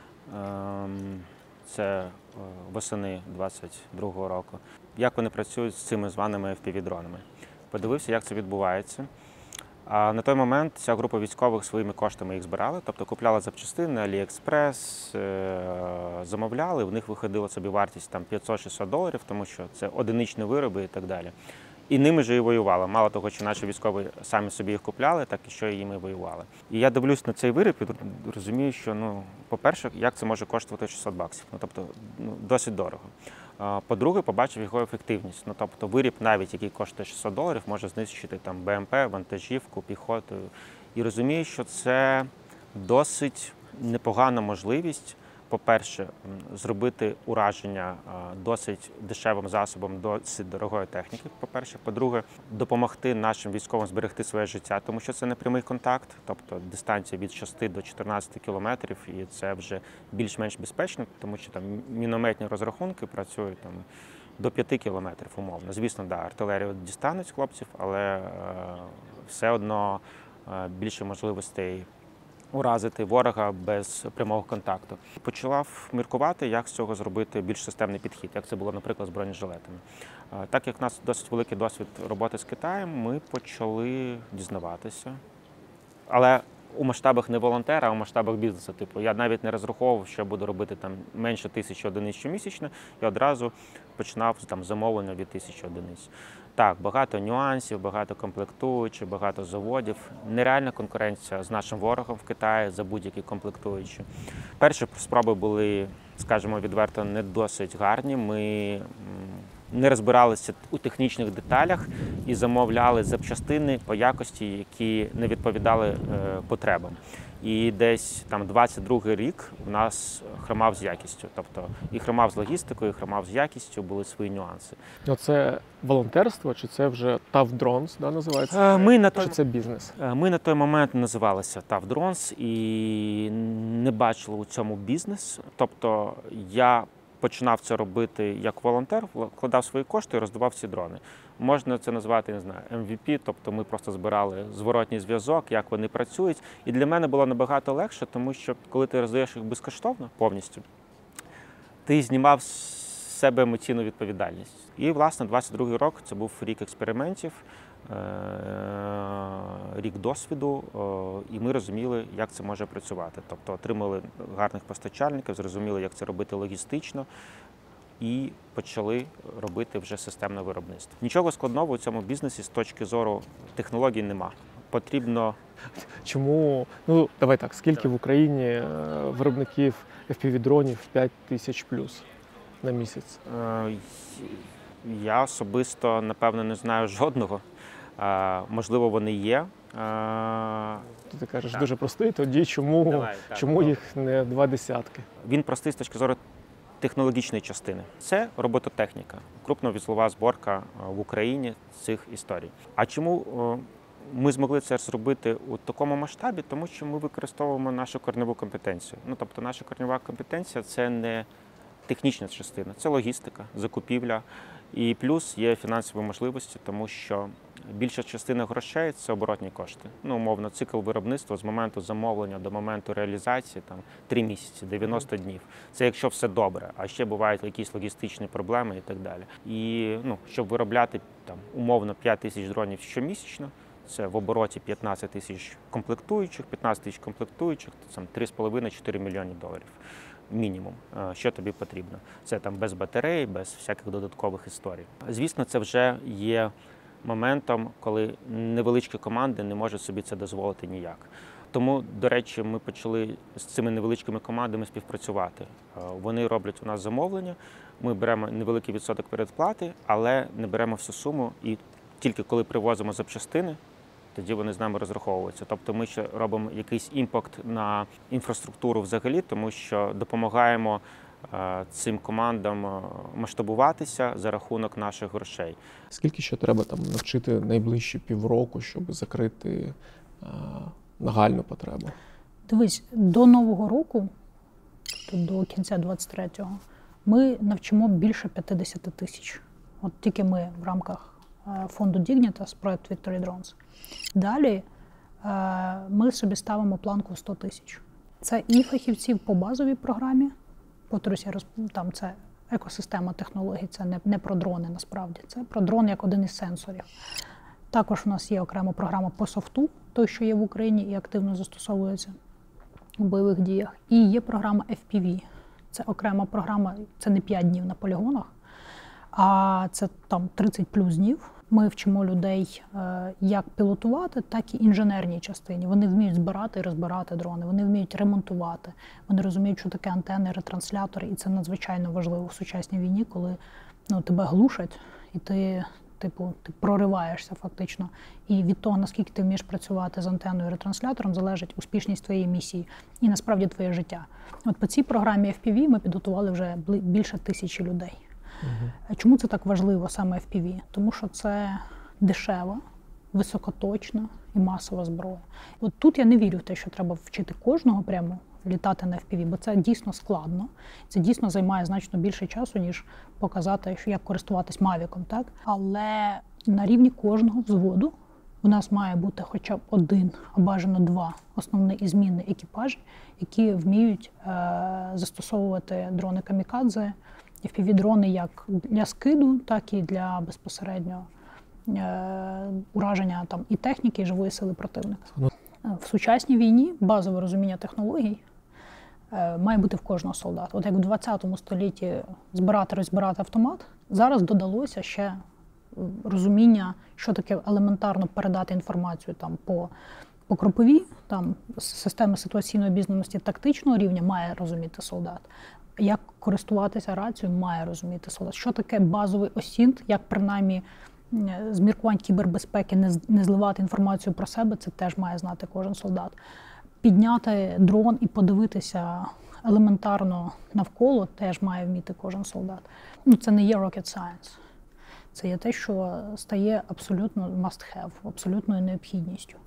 Це восени двадцять другого року. Як вони працюють з цими званими еф пі ві-дронами. Подивився, як це відбувається. А на той момент ця група військових своїми коштами їх збирала, тобто купляла запчастини, Аліекспрес, замовляли, в них виходила собі вартість там п'ятсот-шістсот доларів, тому що це одиничні вироби і так далі. І ними ж і воювала. Мало того, що наші військові самі собі їх купляли, так і що і їми воювали. І я дивлюсь на цей виріб і розумію, що, ну, по-перше, як це може коштувати шістсот баксів. Ну, тобто, ну, досить дорого. По-друге, побачив його ефективність. Ну, тобто, виріб, навіть який коштує шістсот доларів, може знищити там БМП, вантажівку, піхоту. І розумію, що це досить непогана можливість, по-перше, зробити ураження досить дешевим засобом, досить дорогої техніки, по-перше. По-друге, допомогти нашим військовим зберегти своє життя, тому що це не прямий контакт, тобто дистанція від шести до чотирнадцяти кілометрів, і це вже більш-менш безпечно, тому що там мінометні розрахунки працюють там до п'яти кілометрів умовно. Звісно, да, артилерію дістануть хлопців, але е, все одно е, більше можливостей уразити ворога без прямого контакту. Почав міркувати, як з цього зробити більш системний підхід, як це було, наприклад, з бронежилетами. Так як в нас досить великий досвід роботи з Китаєм, ми почали дізнаватися. Але у масштабах не волонтера, а у масштабах бізнесу. Типу, я навіть не розраховував, що я буду робити там менше тисячі одиниць щомісячно, і одразу починав там замовлення від тисячі одиниць. Так, багато нюансів, багато комплектуючих, багато заводів. Нереальна конкуренція з нашим ворогом в Китаї за будь-які комплектуючі. Перші спроби були, скажімо відверто, не досить гарні. Ми не розбиралися у технічних деталях і замовляли запчастини по якості, які не відповідали е, потребам. І десь там двадцять другий рік у нас хромав з якістю. Тобто і хромав з логістикою, і хромав з якістю, були свої нюанси. Це волонтерство, чи це вже Tough Drones, да, називається? Ми на той... Чи це бізнес? Ми на той момент називалися Tough Drones і не бачили у цьому бізнес. Тобто я починав це робити як волонтер, вкладав свої кошти і роздавав ці дрони. Можна це назвати, не знаю, Ем Ві Пі, тобто ми просто збирали зворотній зв'язок, як вони працюють. І для мене було набагато легше, тому що коли ти роздаєш їх безкоштовно, повністю, ти знімав з себе емоційну відповідальність. І, власне, двадцять другий рік – це був рік експериментів, рік досвіду, і ми розуміли, як це може працювати. Тобто отримали гарних постачальників, зрозуміли, як це робити логістично, і почали робити вже системне виробництво. Нічого складного у цьому бізнесі з точки зору технологій нема. Потрібно... Чому, ну давай так, скільки давай. В Україні виробників еф пі ві-дронів п'ять тисяч плюс на місяць? Я особисто, напевно, не знаю жодного. Можливо, вони є. Ти кажеш, так. Дуже простий, тоді чому, Давай, так, чому так. їх не два десятки? Він простий з точки зору технологічної частини. Це робототехніка, крупновузлова зборка в Україні цих історій. А чому ми змогли це зробити у такому масштабі? Тому що ми використовуємо нашу корневу компетенцію. Ну, тобто наша корнева компетенція – це не технічна частина, це логістика, закупівля. І плюс є фінансові можливості, тому що більша частина грошей – це оборотні кошти. Ну, умовно, цикл виробництва з моменту замовлення до моменту реалізації – там три місяці, дев'яносто днів. Це якщо все добре, а ще бувають якісь логістичні проблеми і так далі. І, ну, щоб виробляти там умовно п'ять тисяч дронів щомісячно, це в обороті п'ятнадцять тисяч комплектуючих, п'ятнадцять тисяч комплектуючих, це три з половиною - чотири мільйони доларів. Мінімум, що тобі потрібно. Це там без батарей, без всяких додаткових історій. Звісно, це вже є моментом, коли невеличкі команди не можуть собі це дозволити ніяк. Тому, до речі, ми почали з цими невеличкими командами співпрацювати. Вони роблять у нас замовлення, ми беремо невеликий відсоток передплати, але не беремо всю суму, і тільки коли привозимо запчастини, тоді вони з нами розраховуються. Тобто ми ще робимо якийсь імпакт на інфраструктуру взагалі, тому що допомагаємо цим командам масштабуватися за рахунок наших грошей. Скільки ще треба там навчити найближчі півроку, щоб закрити а, нагальну потребу? Дивись, до Нового року, до кінця двадцять третього, ми навчимо більше п'ятдесят тисяч. От тільки ми в рамках фонду Dignitas, проект Victory Drones. Далі ми собі ставимо планку сто тисяч. Це і фахівців по базовій програмі, повторюся, там це екосистема технологій, це не, не про дрони насправді, це про дрон як один із сенсорів. Також у нас є окрема програма по софту, той, що є в Україні і активно застосовується у бойових діях. І є програма еф пі ві. Це окрема програма, це не п'ять днів на полігонах, а це там тридцять плюс днів. Ми вчимо людей як пілотувати, так і інженерній частині. Вони вміють збирати і розбирати дрони, вони вміють ремонтувати, вони розуміють, що таке антени, ретранслятори, і це надзвичайно важливо в сучасній війні, коли ну, тебе глушать, і ти, типу, ти прориваєшся фактично. І від того, наскільки ти вмієш працювати з антеною і ретранслятором, залежить успішність твоєї місії і насправді твоє життя. От по цій програмі еф пі ві ми підготували вже більше тисячі людей. Uh-huh. Чому це так важливо, саме еф пі ві? Тому що це дешева, високоточна і масова зброя. От тут я не вірю в те, що треба вчити кожного прямо літати на еф пі ві, бо це дійсно складно. Це дійсно займає значно більше часу, ніж показати, як користуватись мавіком, так? Але на рівні кожного взводу у нас має бути хоча б один, а бажано два основні і змінні екіпажі, які вміють е- застосовувати дрони камікадзе, еф пі ві-дрони як для скиду, так і для безпосередньо е- ураження там, і техніки, і живої сили противника. В сучасній війні базове розуміння технологій е- має бути в кожного солдата. От як в двадцятому столітті збирати, розбирати автомат, зараз додалося ще розуміння, що таке елементарно передати інформацію там, по, по кроповій, там, системи ситуаційної обізнаності тактичного рівня має розуміти солдат. Як користуватися рацією, має розуміти солдат. Що таке базовий осінт, як принаймні з міркувань кібербезпеки не, не зливати інформацію про себе, це теж має знати кожен солдат. Підняти дрон і подивитися елементарно навколо теж має вміти кожен солдат. Ну, це не є rocket science. Це є те, що стає абсолютно must-have, абсолютною необхідністю.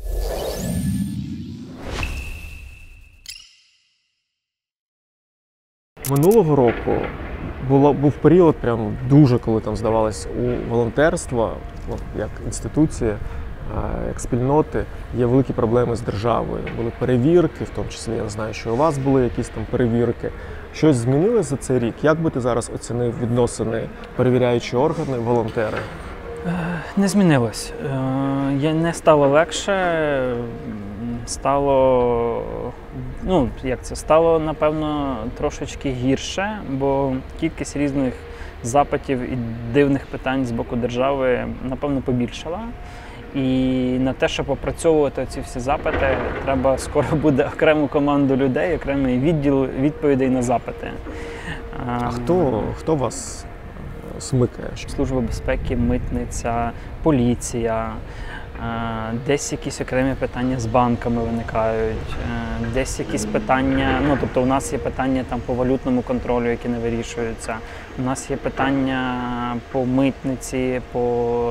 Минулого року було, був період, прям дуже, коли там здавалось, у волонтерства, як інституції, як спільноти, є великі проблеми з державою. Були перевірки, в тому числі, я знаю, що у вас були якісь там перевірки. Щось змінилося за цей рік? Як би ти зараз оцінив відносини перевіряючі органи, волонтери? Не змінилось. Не стало легше, стало, ну, як це, стало, напевно, трошечки гірше, бо кількість різних запитів і дивних питань з боку держави, напевно, побільшала. І на те, щоб опрацьовувати ці всі запити, треба скоро буде окрему команду людей, окремий відділ відповідей на запити. А хто, хто вас смикає? Служба безпеки, митниця, поліція, десь якісь окремі питання з банками виникають, десь якісь питання, ну тобто у нас є питання там по валютному контролю, які не вирішуються, у нас є питання по митниці, по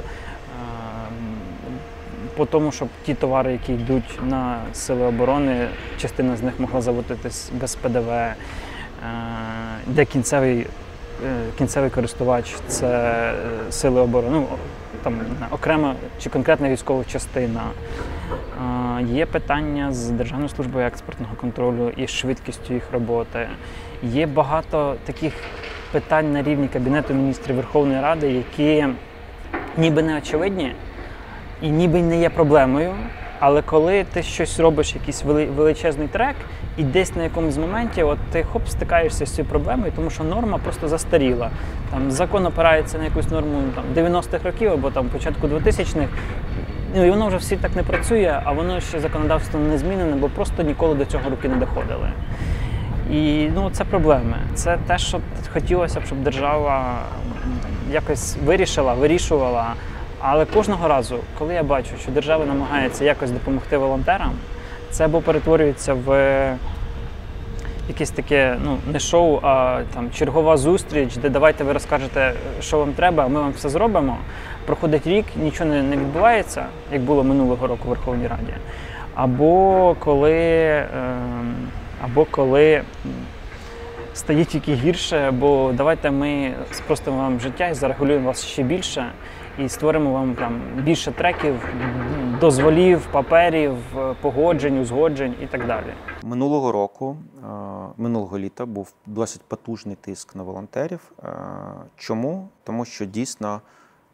по тому, щоб ті товари, які йдуть на сили оборони, частина з них могла заводитись без пе де ве, де кінцевий, кінцевий користувач – це сили оборони, ну, там окрема чи конкретна військова частина. Є питання з Державною службою експортного контролю і швидкістю їх роботи. Є багато таких питань на рівні Кабінету міністрів Верховної Ради, які ніби не очевидні, і ніби не є проблемою, але коли ти щось робиш, якийсь величезний трек, і десь на якомусь моменті от ти хоп, стикаєшся з цією проблемою, тому що норма просто застаріла. Там закон опирається на якусь норму там, дев'яностих років або там, початку двотисячних, ну, і воно вже всі так не працює, а воно ще законодавство не змінене, бо просто ніколи до цього руки не доходили. І ну, це проблеми. Це те, що хотілося б, щоб держава якось вирішила, вирішувала. Але кожного разу, коли я бачу, що держава намагається якось допомогти волонтерам, це або перетворюється в якесь таке, ну, не шоу, а там чергова зустріч, де давайте ви розкажете, що вам треба, а ми вам все зробимо. Проходить рік, нічого не, не відбувається, як було минулого року в Верховній Раді. Або коли, е, або коли стає тільки гірше, бо давайте ми спростимо вам життя і зарегулюємо вас ще більше. І створимо вам там більше треків, дозволів, паперів, погоджень, узгоджень і так далі. Минулого року, минулого літа був досить потужний тиск на волонтерів. Чому? Тому що дійсно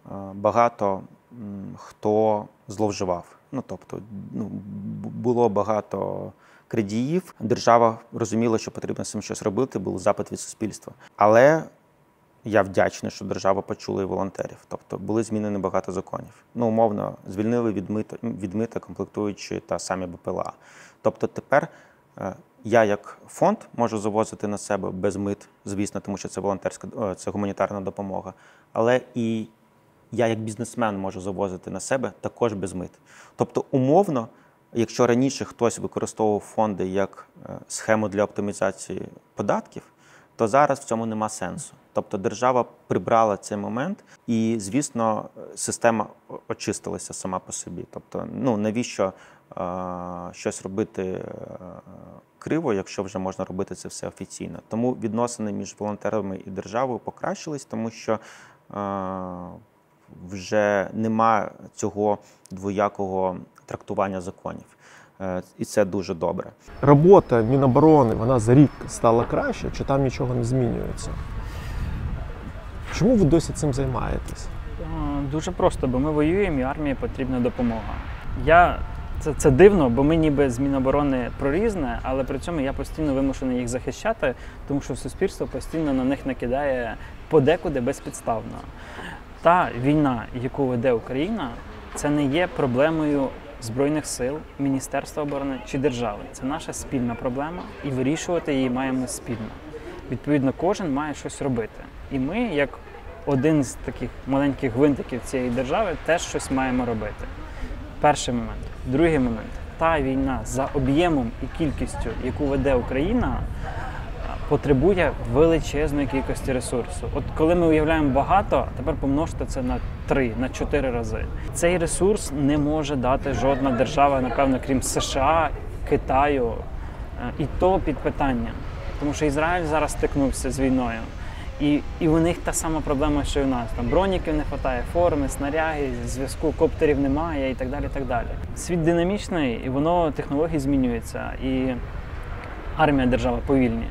багато хто зловживав. Ну, тобто, ну, було багато крадіїв. Держава розуміла, що потрібно з цим щось робити, був запит від суспільства. Але я вдячний, що держава почула і волонтерів. Тобто були змінені багато законів. Ну, умовно, звільнили від мита, від мита комплектуючі та самі БПЛА. Тобто тепер я як фонд можу завозити на себе без мит, звісно, тому що це волонтерська, це гуманітарна допомога. Але і я як бізнесмен можу завозити на себе також без мит. Тобто умовно, якщо раніше хтось використовував фонди як схему для оптимізації податків, то зараз в цьому нема сенсу. Тобто держава прибрала цей момент і, звісно, система очистилася сама по собі. Тобто, ну, навіщо е, щось робити е, криво, якщо вже можна робити це все офіційно. Тому відносини між волонтерами і державою покращились, тому що е, вже нема цього двоякого трактування законів. І це дуже добре. Робота Міноборони, вона за рік стала краще, чи там нічого не змінюється? Чому ви досі цим займаєтесь? Дуже просто, бо ми воюємо і армії потрібна допомога. Я, це, це дивно, бо ми ніби з Міноборони прорізне, але при цьому я постійно вимушений їх захищати, тому що суспільство постійно на них накидає подекуди безпідставно. Та війна, яку веде Україна, це не є проблемою Збройних сил, Міністерства оборони чи держави. Це наша спільна проблема, і вирішувати її маємо спільно. Відповідно, кожен має щось робити. І ми, як один з таких маленьких гвинтиків цієї держави, теж щось маємо робити. Перший момент. Другий момент. Та війна за об'ємом і кількістю, яку веде Україна, потребує величезної кількості ресурсу. От коли ми уявляємо багато, тепер помножте це на три, на чотири рази. Цей ресурс не може дати жодна держава, напевно, крім США, Китаю, і то під питанням. Тому що Ізраїль зараз стикнувся з війною, і, і у них та сама проблема, що і у нас. Там броніків не вистачає, форми, снаряги, зв'язку, коптерів немає і так далі, і так далі. Світ динамічний, і воно, технології змінюються, і армія, держава повільні.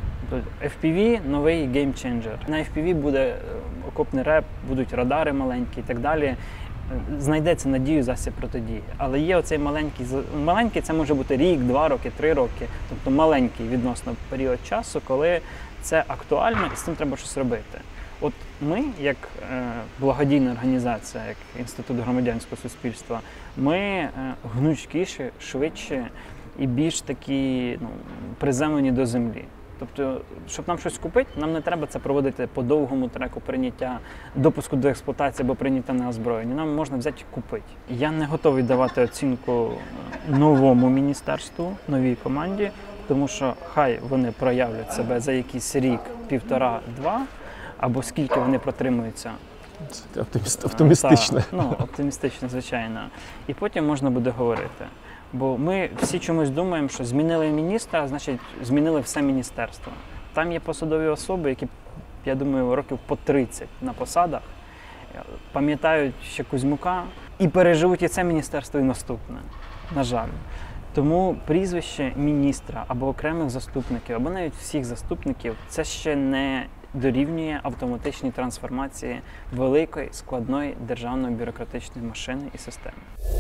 еф пі ві – новий геймченджер. На еф пі ві буде окопний реп, будуть радари маленькі і так далі. Знайдеться надію, засіб протидії. Але є оцей маленький, маленький це може бути рік, два роки, три роки, тобто маленький відносно період часу, коли це актуально і з цим треба щось робити. От ми, як е, благодійна організація, як Інститут громадянського суспільства, ми е, гнучкіші, швидші і більш такі, ну, приземлені до землі. Тобто, щоб нам щось купити, нам не треба це проводити по довгому треку прийняття, допуску до експлуатації або прийняття на озброєння. Нам можна взяти і купити. Я не готовий давати оцінку новому міністерству, новій команді, тому що хай вони проявлять себе за якийсь рік, півтора, два, або скільки вони протримуються. Це оптиміст, оптимістично. Та, ну, оптимістично, звичайно. І потім можна буде говорити. Бо ми всі чомусь думаємо, що змінили міністра, значить змінили все міністерство. Там є посадові особи, які, я думаю, років по тридцять на посадах, пам'ятають ще Кузьмука і переживуть і це міністерство, і наступне, на жаль. Тому прізвище міністра або окремих заступників, або навіть всіх заступників, це ще не дорівнює автоматичній трансформації великої, складної державної бюрократичної машини і системи.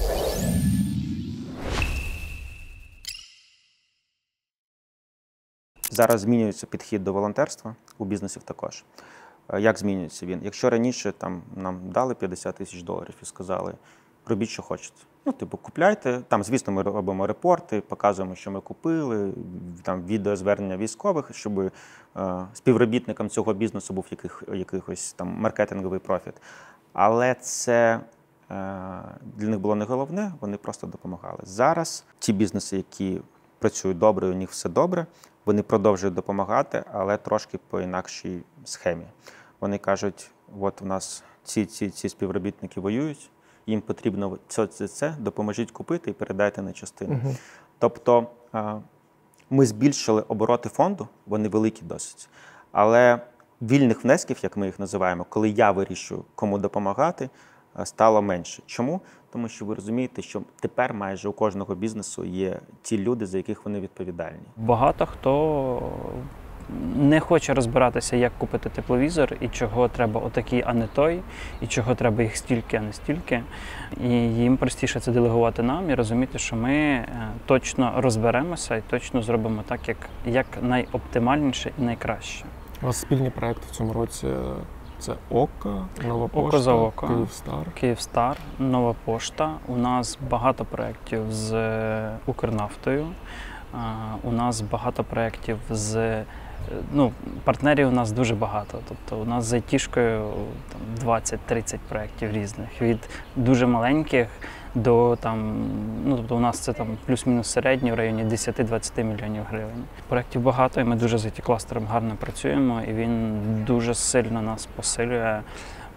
Зараз змінюється підхід до волонтерства, у бізнесів також. Як змінюється він? Якщо раніше там, нам дали п'ятдесят тисяч доларів і сказали, робіть, що хочете. Ну, типу, купляйте. Там, звісно, ми робимо репорти, показуємо, що ми купили, там відеозвернення військових, щоб е, співробітникам цього бізнесу був яких, якийсь там маркетинговий профіт. Але це е, для них було не головне, вони просто допомагали. Зараз ті бізнеси, які працюють добре, у них все добре, вони продовжують допомагати, але трошки по інакшій схемі. Вони кажуть, от у нас ці, ці, ці співробітники воюють, їм потрібно це, це, це, допоможіть купити і передайте на частину. Uh-huh. Тобто ми збільшили обороти фонду, вони великі досить, але вільних внесків, як ми їх називаємо, коли я вирішую, кому допомагати, стало менше. Чому? Тому що ви розумієте, що тепер майже у кожного бізнесу є ті люди, за яких вони відповідальні. Багато хто не хоче розбиратися, як купити тепловізор, і чого треба отакий, а не той, і чого треба їх стільки, а не стільки. І їм простіше це делегувати нам і розуміти, що ми точно розберемося і точно зробимо так, як, як найоптимальніше і найкраще. У вас спільні проекти в цьому році – це ОКО, Нова Око Пошта, за око. Київстар. Київстар, Нова Пошта. У нас багато проєктів з Укрнафтою. У нас багато проєктів з... Ну, партнерів у нас дуже багато. Тобто у нас з айтішкою двадцять-тридцять проєктів різних. Від дуже маленьких до там, ну тобто у нас це там плюс-мінус середній в районі десять-двадцять мільйонів гривень. Проєктів багато, і ми дуже з айті-кластером гарно працюємо, і він дуже сильно нас посилює е-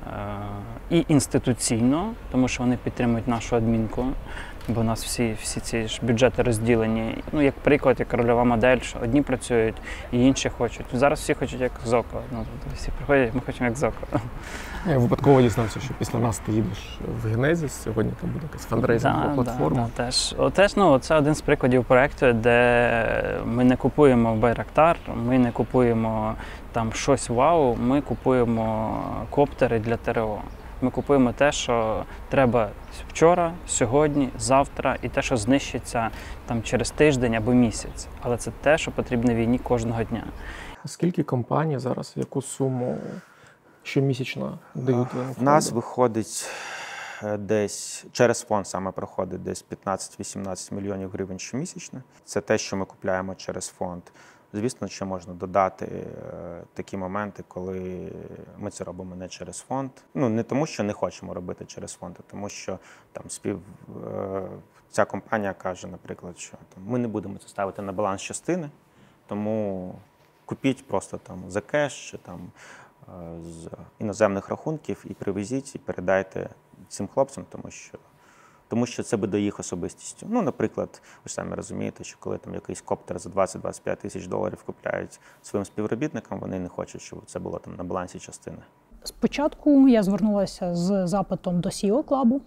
і інституційно, тому що вони підтримують нашу адмінку. Бо у нас всі, всі ці ж бюджети розділені. Ну, як приклад, як рольова модель, що одні працюють і інші хочуть. Зараз всі хочуть як ЗОКО. Ну, всі приходять, ми хочемо як ЗОКО. Я випадково дізнався, що після нас ти їдеш в Генезіс, сьогодні там буде якась фандрейзингова да, платформа. Да, да, теж. О, теж, ну, це один з прикладів проєкту, де ми не купуємо Байрактар, ми не купуємо там щось вау, ми купуємо коптери для ТРО. Ми купуємо те, що треба вчора, сьогодні, завтра, і те, що знищиться там через тиждень або місяць. Але це те, що потрібно війні кожного дня. Скільки компаній зараз, яку суму щомісячно дають вам? В нас виходить десь, через фонд саме проходить десь п'ятнадцять-вісімнадцять мільйонів гривень щомісячно. Це те, що ми купуємо через фонд. Звісно, ще можна додати е, такі моменти, коли ми це робимо не через фонд. Ну, не тому, що не хочемо робити через фонд, а тому, що там спів, е, ця компанія каже, наприклад, що там, ми не будемо це ставити на баланс частини, тому купіть просто там за кеш чи там е, з іноземних рахунків і привезіть, і передайте цим хлопцям, тому що Тому що це буде їх особистістю. Ну, наприклад, ви ж самі розумієте, що коли там якийсь коптер за двадцять-двадцять п'ять тисяч доларів купляють своїм співробітникам, вони не хочуть, щоб це було там на балансі частини. Спочатку я звернулася з запитом до сі і о-клабу,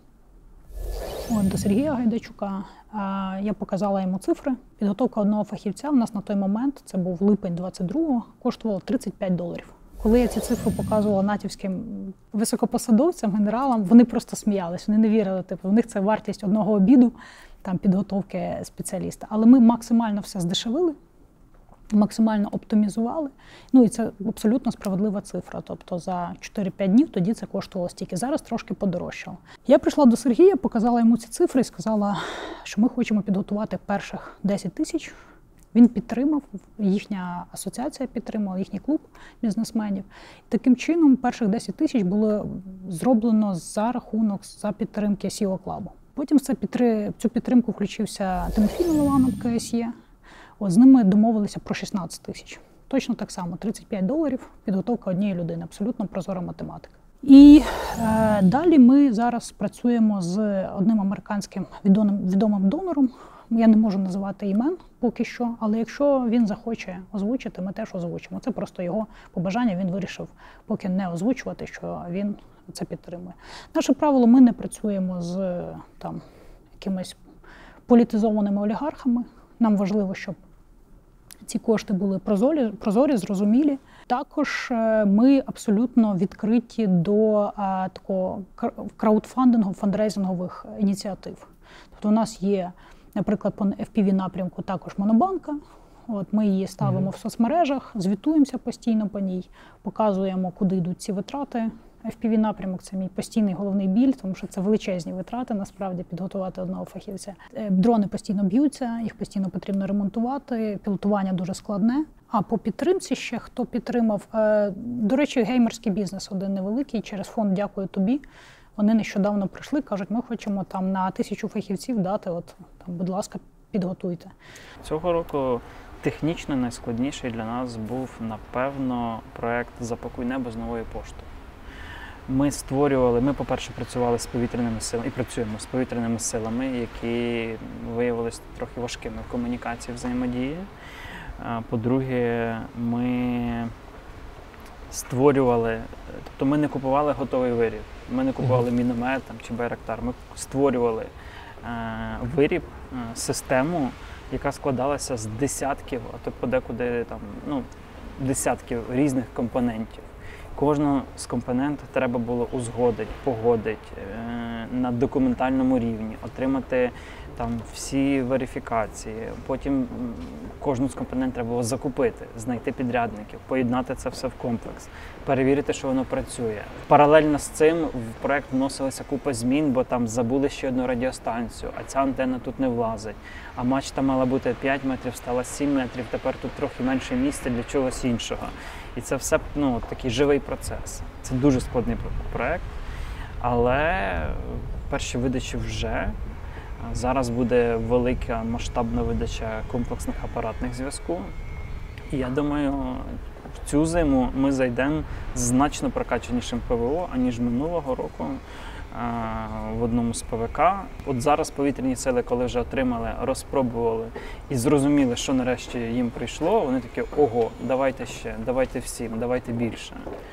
до Сергія Гайдачука. Я показала йому цифри. Підготовка одного фахівця у нас на той момент, це був липень двадцять другого, коштувала тридцять п'ять доларів. Коли я ці цифри показувала натівським високопосадовцям, генералам, вони просто сміялись, вони не вірили. Типу, у них це вартість одного обіду, там, підготовки спеціаліста. Але ми максимально все здешевили, максимально оптимізували. Ну і це абсолютно справедлива цифра. Тобто за чотири-п'ять днів тоді це коштувало стільки. Зараз трошки подорожчало. Я прийшла до Сергія, показала йому ці цифри і сказала, що ми хочемо підготувати перших десять тисяч. Він підтримав, їхня асоціація підтримала, їхній клуб бізнесменів. Таким чином, перших десять тисяч було зроблено за рахунок, за підтримки сі і о-клабу. Потім в цю підтримку включився Тимофій Милованов, ка ес є. От, з ними домовилися про шістнадцять тисяч. Точно так само, тридцять п'ять доларів, підготовка однієї людини, абсолютно прозора математика. І е, далі ми зараз працюємо з одним американським відомим, відомим донором. Я не можу називати імен поки що, але якщо він захоче озвучити, ми теж озвучимо. Це просто його побажання, він вирішив поки не озвучувати, що він це підтримує. Наше правило, ми не працюємо з там, якимись політизованими олігархами. Нам важливо, щоб ці кошти були прозорі, прозорі, зрозумілі. Також ми абсолютно відкриті до а, такого краудфандингу, фандрейзингових ініціатив. Тобто у нас є, наприклад, по еф пі ві-напрямку також монобанка. От ми її ставимо mm-hmm. в соцмережах, звітуємося постійно по ній, показуємо, куди йдуть ці витрати. еф пі ві-напрямок – це мій постійний головний біль, тому що це величезні витрати, насправді, підготувати одного фахівця. Дрони постійно б'ються, їх постійно потрібно ремонтувати, пілотування дуже складне. А по підтримці ще, хто підтримав, до речі, геймерський бізнес один невеликий, через фонд «Дякую тобі». Вони нещодавно прийшли, кажуть, ми хочемо там на тисячу фахівців дати, от там, будь ласка, підготуйте. Цього року технічно найскладніший для нас був, напевно, проєкт «Запакуй небо» з Новою поштою. Ми створювали, ми, по-перше, працювали з повітряними силами і працюємо з повітряними силами, які виявилися трохи важкими в комунікації, взаємодії. По-друге, ми створювали, тобто ми не купували готовий виріб, ми не купували міномет там, чи байрактар, ми створювали е, виріб, е, систему, яка складалася з десятків, а то подекуди там, ну, десятків різних компонентів. Кожну з компонентів треба було узгодити, погодити на документальному рівні, отримати там всі верифікації. Потім кожну з компонентів треба було закупити, знайти підрядників, поєднати це все в комплекс, перевірити, що воно працює. Паралельно з цим в проект вносилася купа змін, бо там забули ще одну радіостанцію, а ця антенна тут не влазить. А мачта мала бути п'ять метрів, стала сім метрів, тепер тут трохи менше місця для чогось іншого. І це все ну, такий живий процес. Це дуже складний проект, але перші видачі вже. Зараз буде велика масштабна видача комплексних апаратних зв'язку. І я думаю, в цю зиму ми зайдемо з значно прокачанішим ПВО, аніж минулого року в одному з ПВК. От зараз повітряні сили, коли вже отримали, розпробували і зрозуміли, що нарешті їм прийшло, вони такі: ого, давайте ще, давайте всім, давайте більше.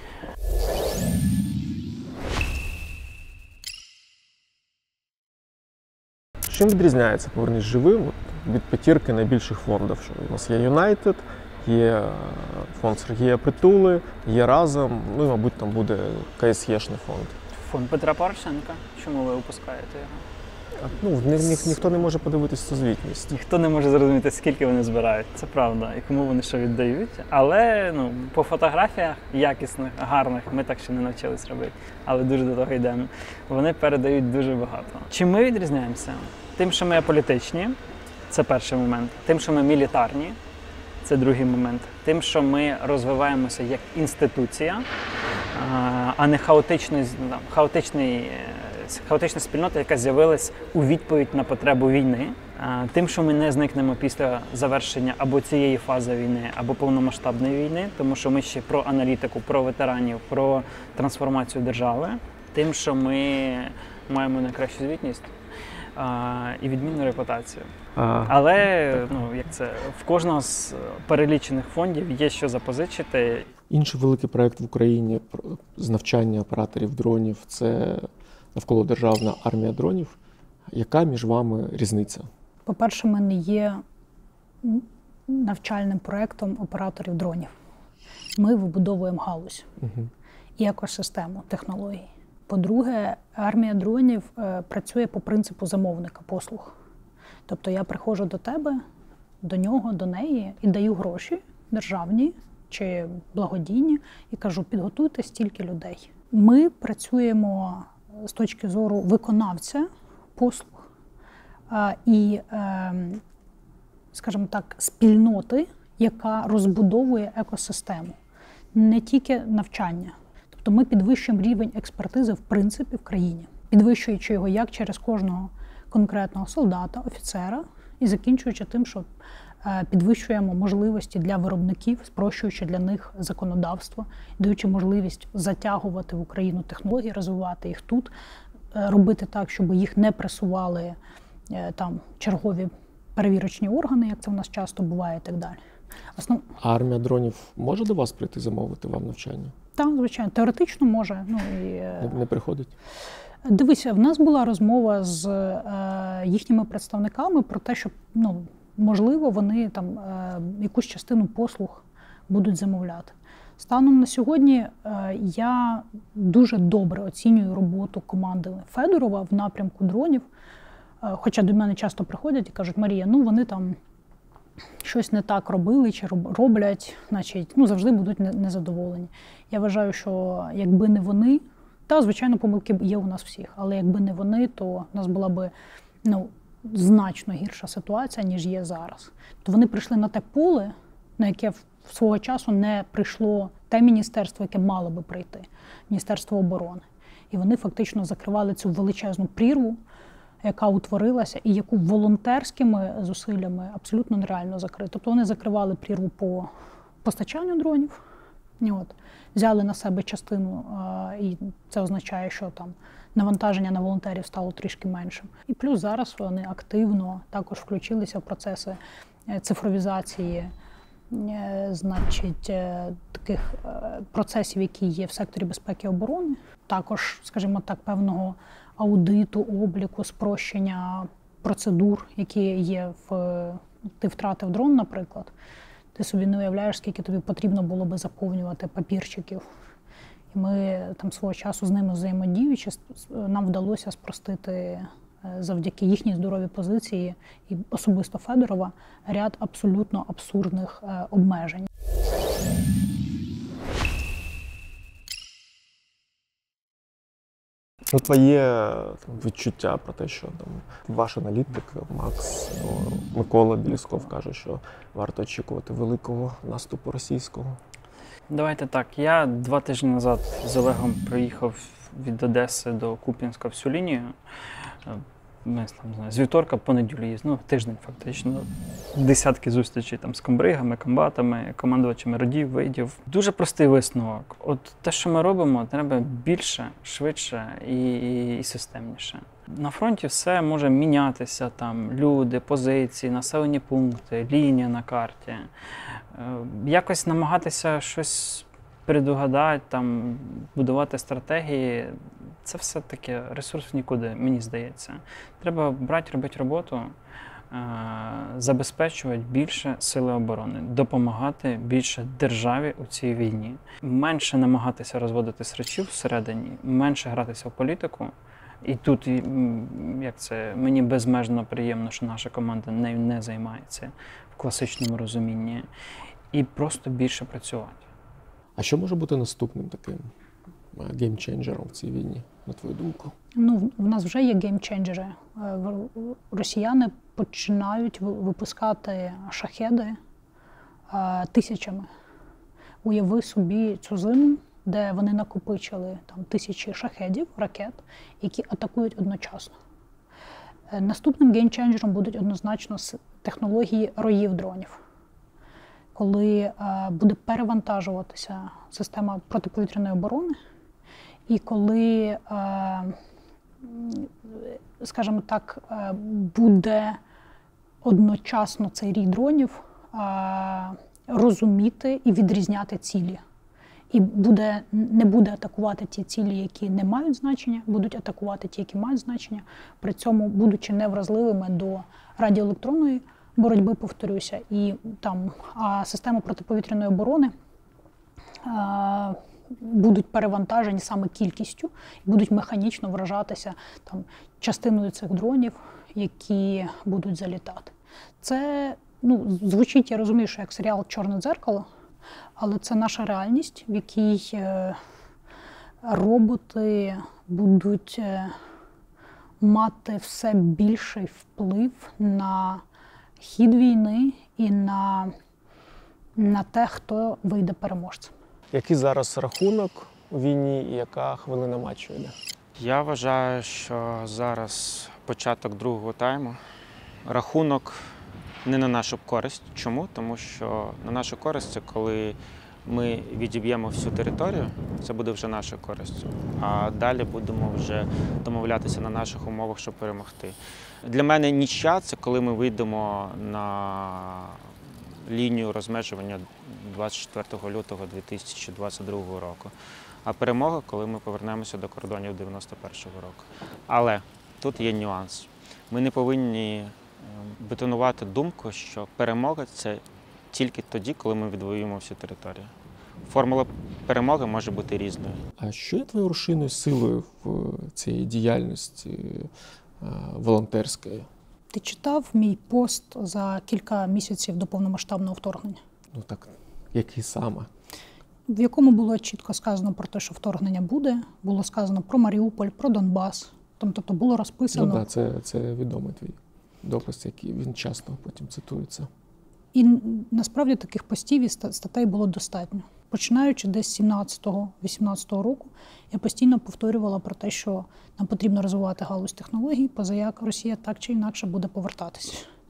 Чим відрізняється «Повернись живим» від п'ятірки найбільших фондів? Що у нас є Юнайтед, є фонд Сергія Притули, є Разом, ну і, мабуть, там буде КСЄшний фонд. Фонд Петра Порошенка. Чому ви опускаєте його? Ну, ні, ні, ніхто не може подивитися цю звітність. Ніхто не може зрозуміти, скільки вони збирають. Це правда. І кому вони що віддають. Але ну, по фотографіях якісних, гарних, ми так ще не навчились робити, але дуже до того йдемо. Вони передають дуже багато. Чим ми відрізняємося? Тим, що ми аполітичні, це перший момент. Тим, що ми мілітарні, це другий момент. Тим, що ми розвиваємося як інституція, а не хаотичний, там, хаотичний, хаотична спільнота, яка з'явилась у відповідь на потребу війни. Тим, що ми не зникнемо після завершення або цієї фази війни, або повномасштабної війни, тому що ми ще про аналітику, про ветеранів, про трансформацію держави. Тим, що ми маємо найкращу звітність і відмінну репутацію. А. Але ну, як це, в кожного з перелічених фондів є що запозичити. Інший великий проєкт в Україні з навчання операторів дронів – це навколодержавна армія дронів. Яка між вами різниця? По-перше, ми не є навчальним проєктом операторів дронів. Ми вибудовуємо галузь угу. і екосистему технологій. По-друге, армія дронів е, працює по принципу замовника послуг. Тобто я приходжу до тебе, до нього, до неї і даю гроші державні чи благодійні і кажу: підготуйте стільки людей. Ми працюємо з точки зору виконавця послуг е, і, е, скажімо так, спільноти, яка розбудовує екосистему. Не тільки навчання. Тобто ми підвищуємо рівень експертизи в принципі в країні, підвищуючи його як через кожного конкретного солдата, офіцера, і закінчуючи тим, що підвищуємо можливості для виробників, спрощуючи для них законодавство, даючи можливість затягувати в Україну технології, розвивати їх тут, робити так, щоб їх не пресували там чергові перевірочні органи, як це в нас часто буває, і так далі. Основ... А армія дронів може до вас прийти замовити вам навчання? Так, звичайно, теоретично може. Ну, і... не, не приходить? Дивися, в нас була розмова з е, їхніми представниками про те, що, ну, можливо, вони там е, якусь частину послуг будуть замовляти. Станом на сьогодні е, я дуже добре оцінюю роботу команди Федорова в напрямку дронів, е, хоча до мене часто приходять і кажуть: Марія, ну вони там щось не так робили чи роблять, значить, ну, завжди будуть незадоволені. Я вважаю, що якби не вони, та, звичайно, помилки є у нас всіх, але якби не вони, то у нас була би, ну, значно гірша ситуація, ніж є зараз. То вони прийшли на те поле, на яке свого часу не прийшло те міністерство, яке мало би прийти, Міністерство оборони. І вони фактично закривали цю величезну прірву, яка утворилася і яку волонтерськими зусиллями абсолютно нереально закрити. Тобто вони закривали прірву по постачанню дронів, от, взяли на себе частину, і це означає, що там навантаження на волонтерів стало трішки меншим. І плюс зараз вони активно також включилися в процеси цифровізації, значить, таких процесів, які є в секторі безпеки і оборони. Також, скажімо так, певного аудиту, обліку, спрощення процедур, які є в... Ти втратив дрон, наприклад. ти собі не уявляєш, скільки тобі потрібно було би заповнювати папірчиків. І ми там свого часу з ними взаємодіючи, нам вдалося спростити завдяки їхній здоровій позиції і особисто Федорова ряд абсолютно абсурдних обмежень. Ну, твоє відчуття про те, що там ваш аналітик Макс, ну, Микола Білісков каже, що варто очікувати великого наступу російського. Давайте так. Я два тижні назад з Олегом приїхав від Одеси до Куп'янська всю лінію. Ми там, не знаю, з вівторка по неділю їздили, ну, тиждень фактично. Десятки зустрічей там з комбригами, комбатами, командувачами родів, видів. Дуже простий висновок. От те, що ми робимо, треба більше, швидше і, і, і системніше. На фронті все може мінятися, там люди, позиції, населені пункти, лінія на карті. Якось намагатися щось предугадати, там, будувати стратегії. Це все таки ресурс в нікуди, мені здається. Треба брати, робити роботу, забезпечувати більше сили оборони, допомагати більше державі у цій війні. Менше намагатися розводити срачів всередині, менше гратися в політику. І тут, як це, мені безмежно приємно, що наша команда нею не займається в класичному розумінні. І просто більше працювати. А що може бути наступним таким геймченджером в цій війні, на твою думку? Ну, в нас вже є геймченджери. Росіяни починають випускати шахеди тисячами. Уяви собі цю зиму, де вони накопичили там тисячі шахедів, ракет, які атакують одночасно. Наступним геймченджером будуть однозначно технології роїв дронів. Коли буде перевантажуватися система протиповітряної оборони, і коли, скажімо так, буде одночасно цей рій дронів розуміти і відрізняти цілі. І буде, не буде атакувати ті цілі, які не мають значення, будуть атакувати ті, які мають значення, при цьому будучи невразливими до радіоелектронної боротьби, повторюся, і там а системи протиповітряної оборони а, будуть перевантажені саме кількістю, і будуть механічно вражатися там частиною цих дронів, які будуть залітати. Це, ну, звучить, я розумію, що як серіал «Чорне дзеркало», але це наша реальність, в якій е, роботи будуть е, мати все більший вплив на хід війни і на, на те, хто вийде переможцем. Який зараз рахунок у війні і яка хвилина матчу йде? Я вважаю, що зараз початок другого тайму. Рахунок не на нашу користь. Чому? Тому що на нашу користь це коли ми відіб'ємо всю територію, це буде вже наша користь. А далі будемо вже домовлятися на наших умовах, щоб перемогти. Для мене нічия – це коли ми вийдемо на лінію розмежування двадцять четвертого лютого дві тисячі двадцять другого року. А перемога, коли ми повернемося до кордонів дев'яносто першого року. Але тут є нюанс. Ми не повинні бетонувати думку, що перемога – це тільки тоді, коли ми відвоюємо всю територію. Формула перемоги може бути різною. А що є твоєю рушійною силою в цій діяльності волонтерської? Ти читав мій пост за кілька місяців до повномасштабного вторгнення? Ну так, який саме? В якому було чітко сказано про те, що вторгнення буде, було сказано про Маріуполь, про Донбас. Тобто було розписано. Ну так, це, це відомий твій допис, який він часто потім цитується. І насправді таких постів і статей було достатньо. Починаючи десь з сімнадцятого-вісімнадцятого року, я постійно повторювала про те, що нам потрібно розвивати галузь технологій, позаяк Росія так чи інакше буде повертатися.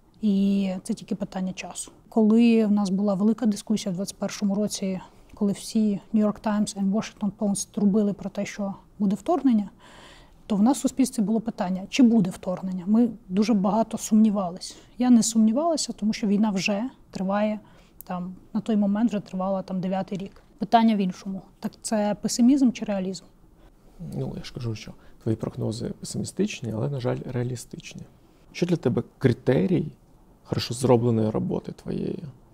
І це тільки питання часу. Коли в нас була велика дискусія в двадцять першому році, коли всі New York Times і Washington Post трубили про те, що буде вторгнення, то в нас в суспільстві було питання, чи буде вторгнення. Ми дуже багато сумнівалися. Я не сумнівалася, тому що війна вже триває, там, на той момент вже тривала там дев'ятий рік. Питання в іншому. Так це песимізм чи реалізм? Ну, я ж кажу, що твої прогнози песимістичні, але, на жаль, реалістичні. Що для тебе критерій хорошо зробленої роботи твоєї?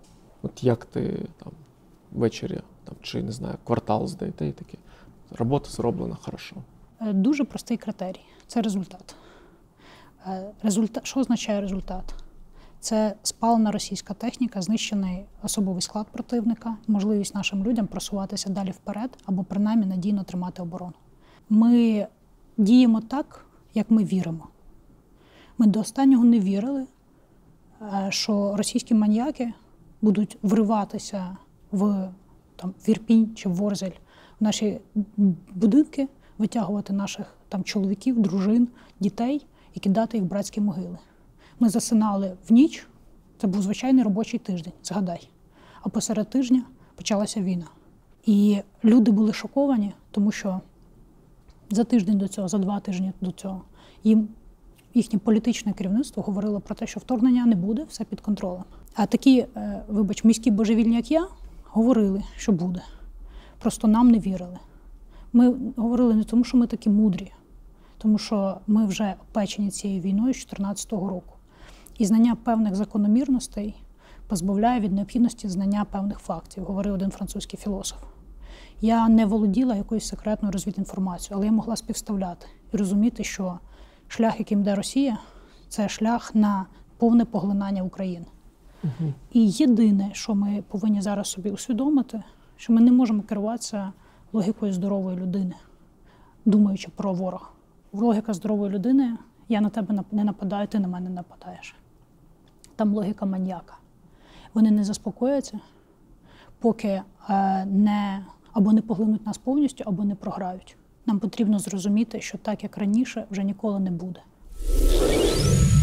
От як ти там ввечері там, чи не знаю, квартал здаєте і таке. Робота зроблена хорошо. Дуже простий критерій – це результат. Результат. Що означає результат? Це спалена російська техніка, знищений особовий склад противника, можливість нашим людям просуватися далі вперед або принаймні надійно тримати оборону. Ми діємо так, як ми віримо. Ми до останнього не вірили, що російські маніяки будуть вриватися в, там, в Ірпінь чи в Ворзель, в наші будинки, витягувати наших там, чоловіків, дружин, дітей і кидати їх в братські могили. Ми засинали в ніч, це був звичайний робочий тиждень, згадай. А посеред тижня почалася війна. І люди були шоковані, тому що за тиждень до цього, за два тижні до цього, їм їхнє політичне керівництво говорило про те, що вторгнення не буде, все під контролем. А такі, вибач, міські божевільні, як я, говорили, що буде. Просто нам не вірили. Ми говорили не тому, що ми такі мудрі, тому що ми вже опечені цією війною з чотирнадцятого року. І знання певних закономірностей позбавляє від необхідності знання певних фактів, говорив один французький філософ. Я не володіла якоюсь секретною розвідінформацією, але я могла співставляти і розуміти, що шлях, яким йде Росія, це шлях на повне поглинання України. Угу. І єдине, що ми повинні зараз собі усвідомити, що ми не можемо керуватися логікою здорової людини, думаючи про ворога. Логіка здорової людини – я на тебе не нападаю, ти на мене не нападаєш. Там логіка маніяка. Вони не заспокояться, поки е, не, або не поглинуть нас повністю, або не програють. Нам потрібно зрозуміти, що так, як раніше, вже ніколи не буде.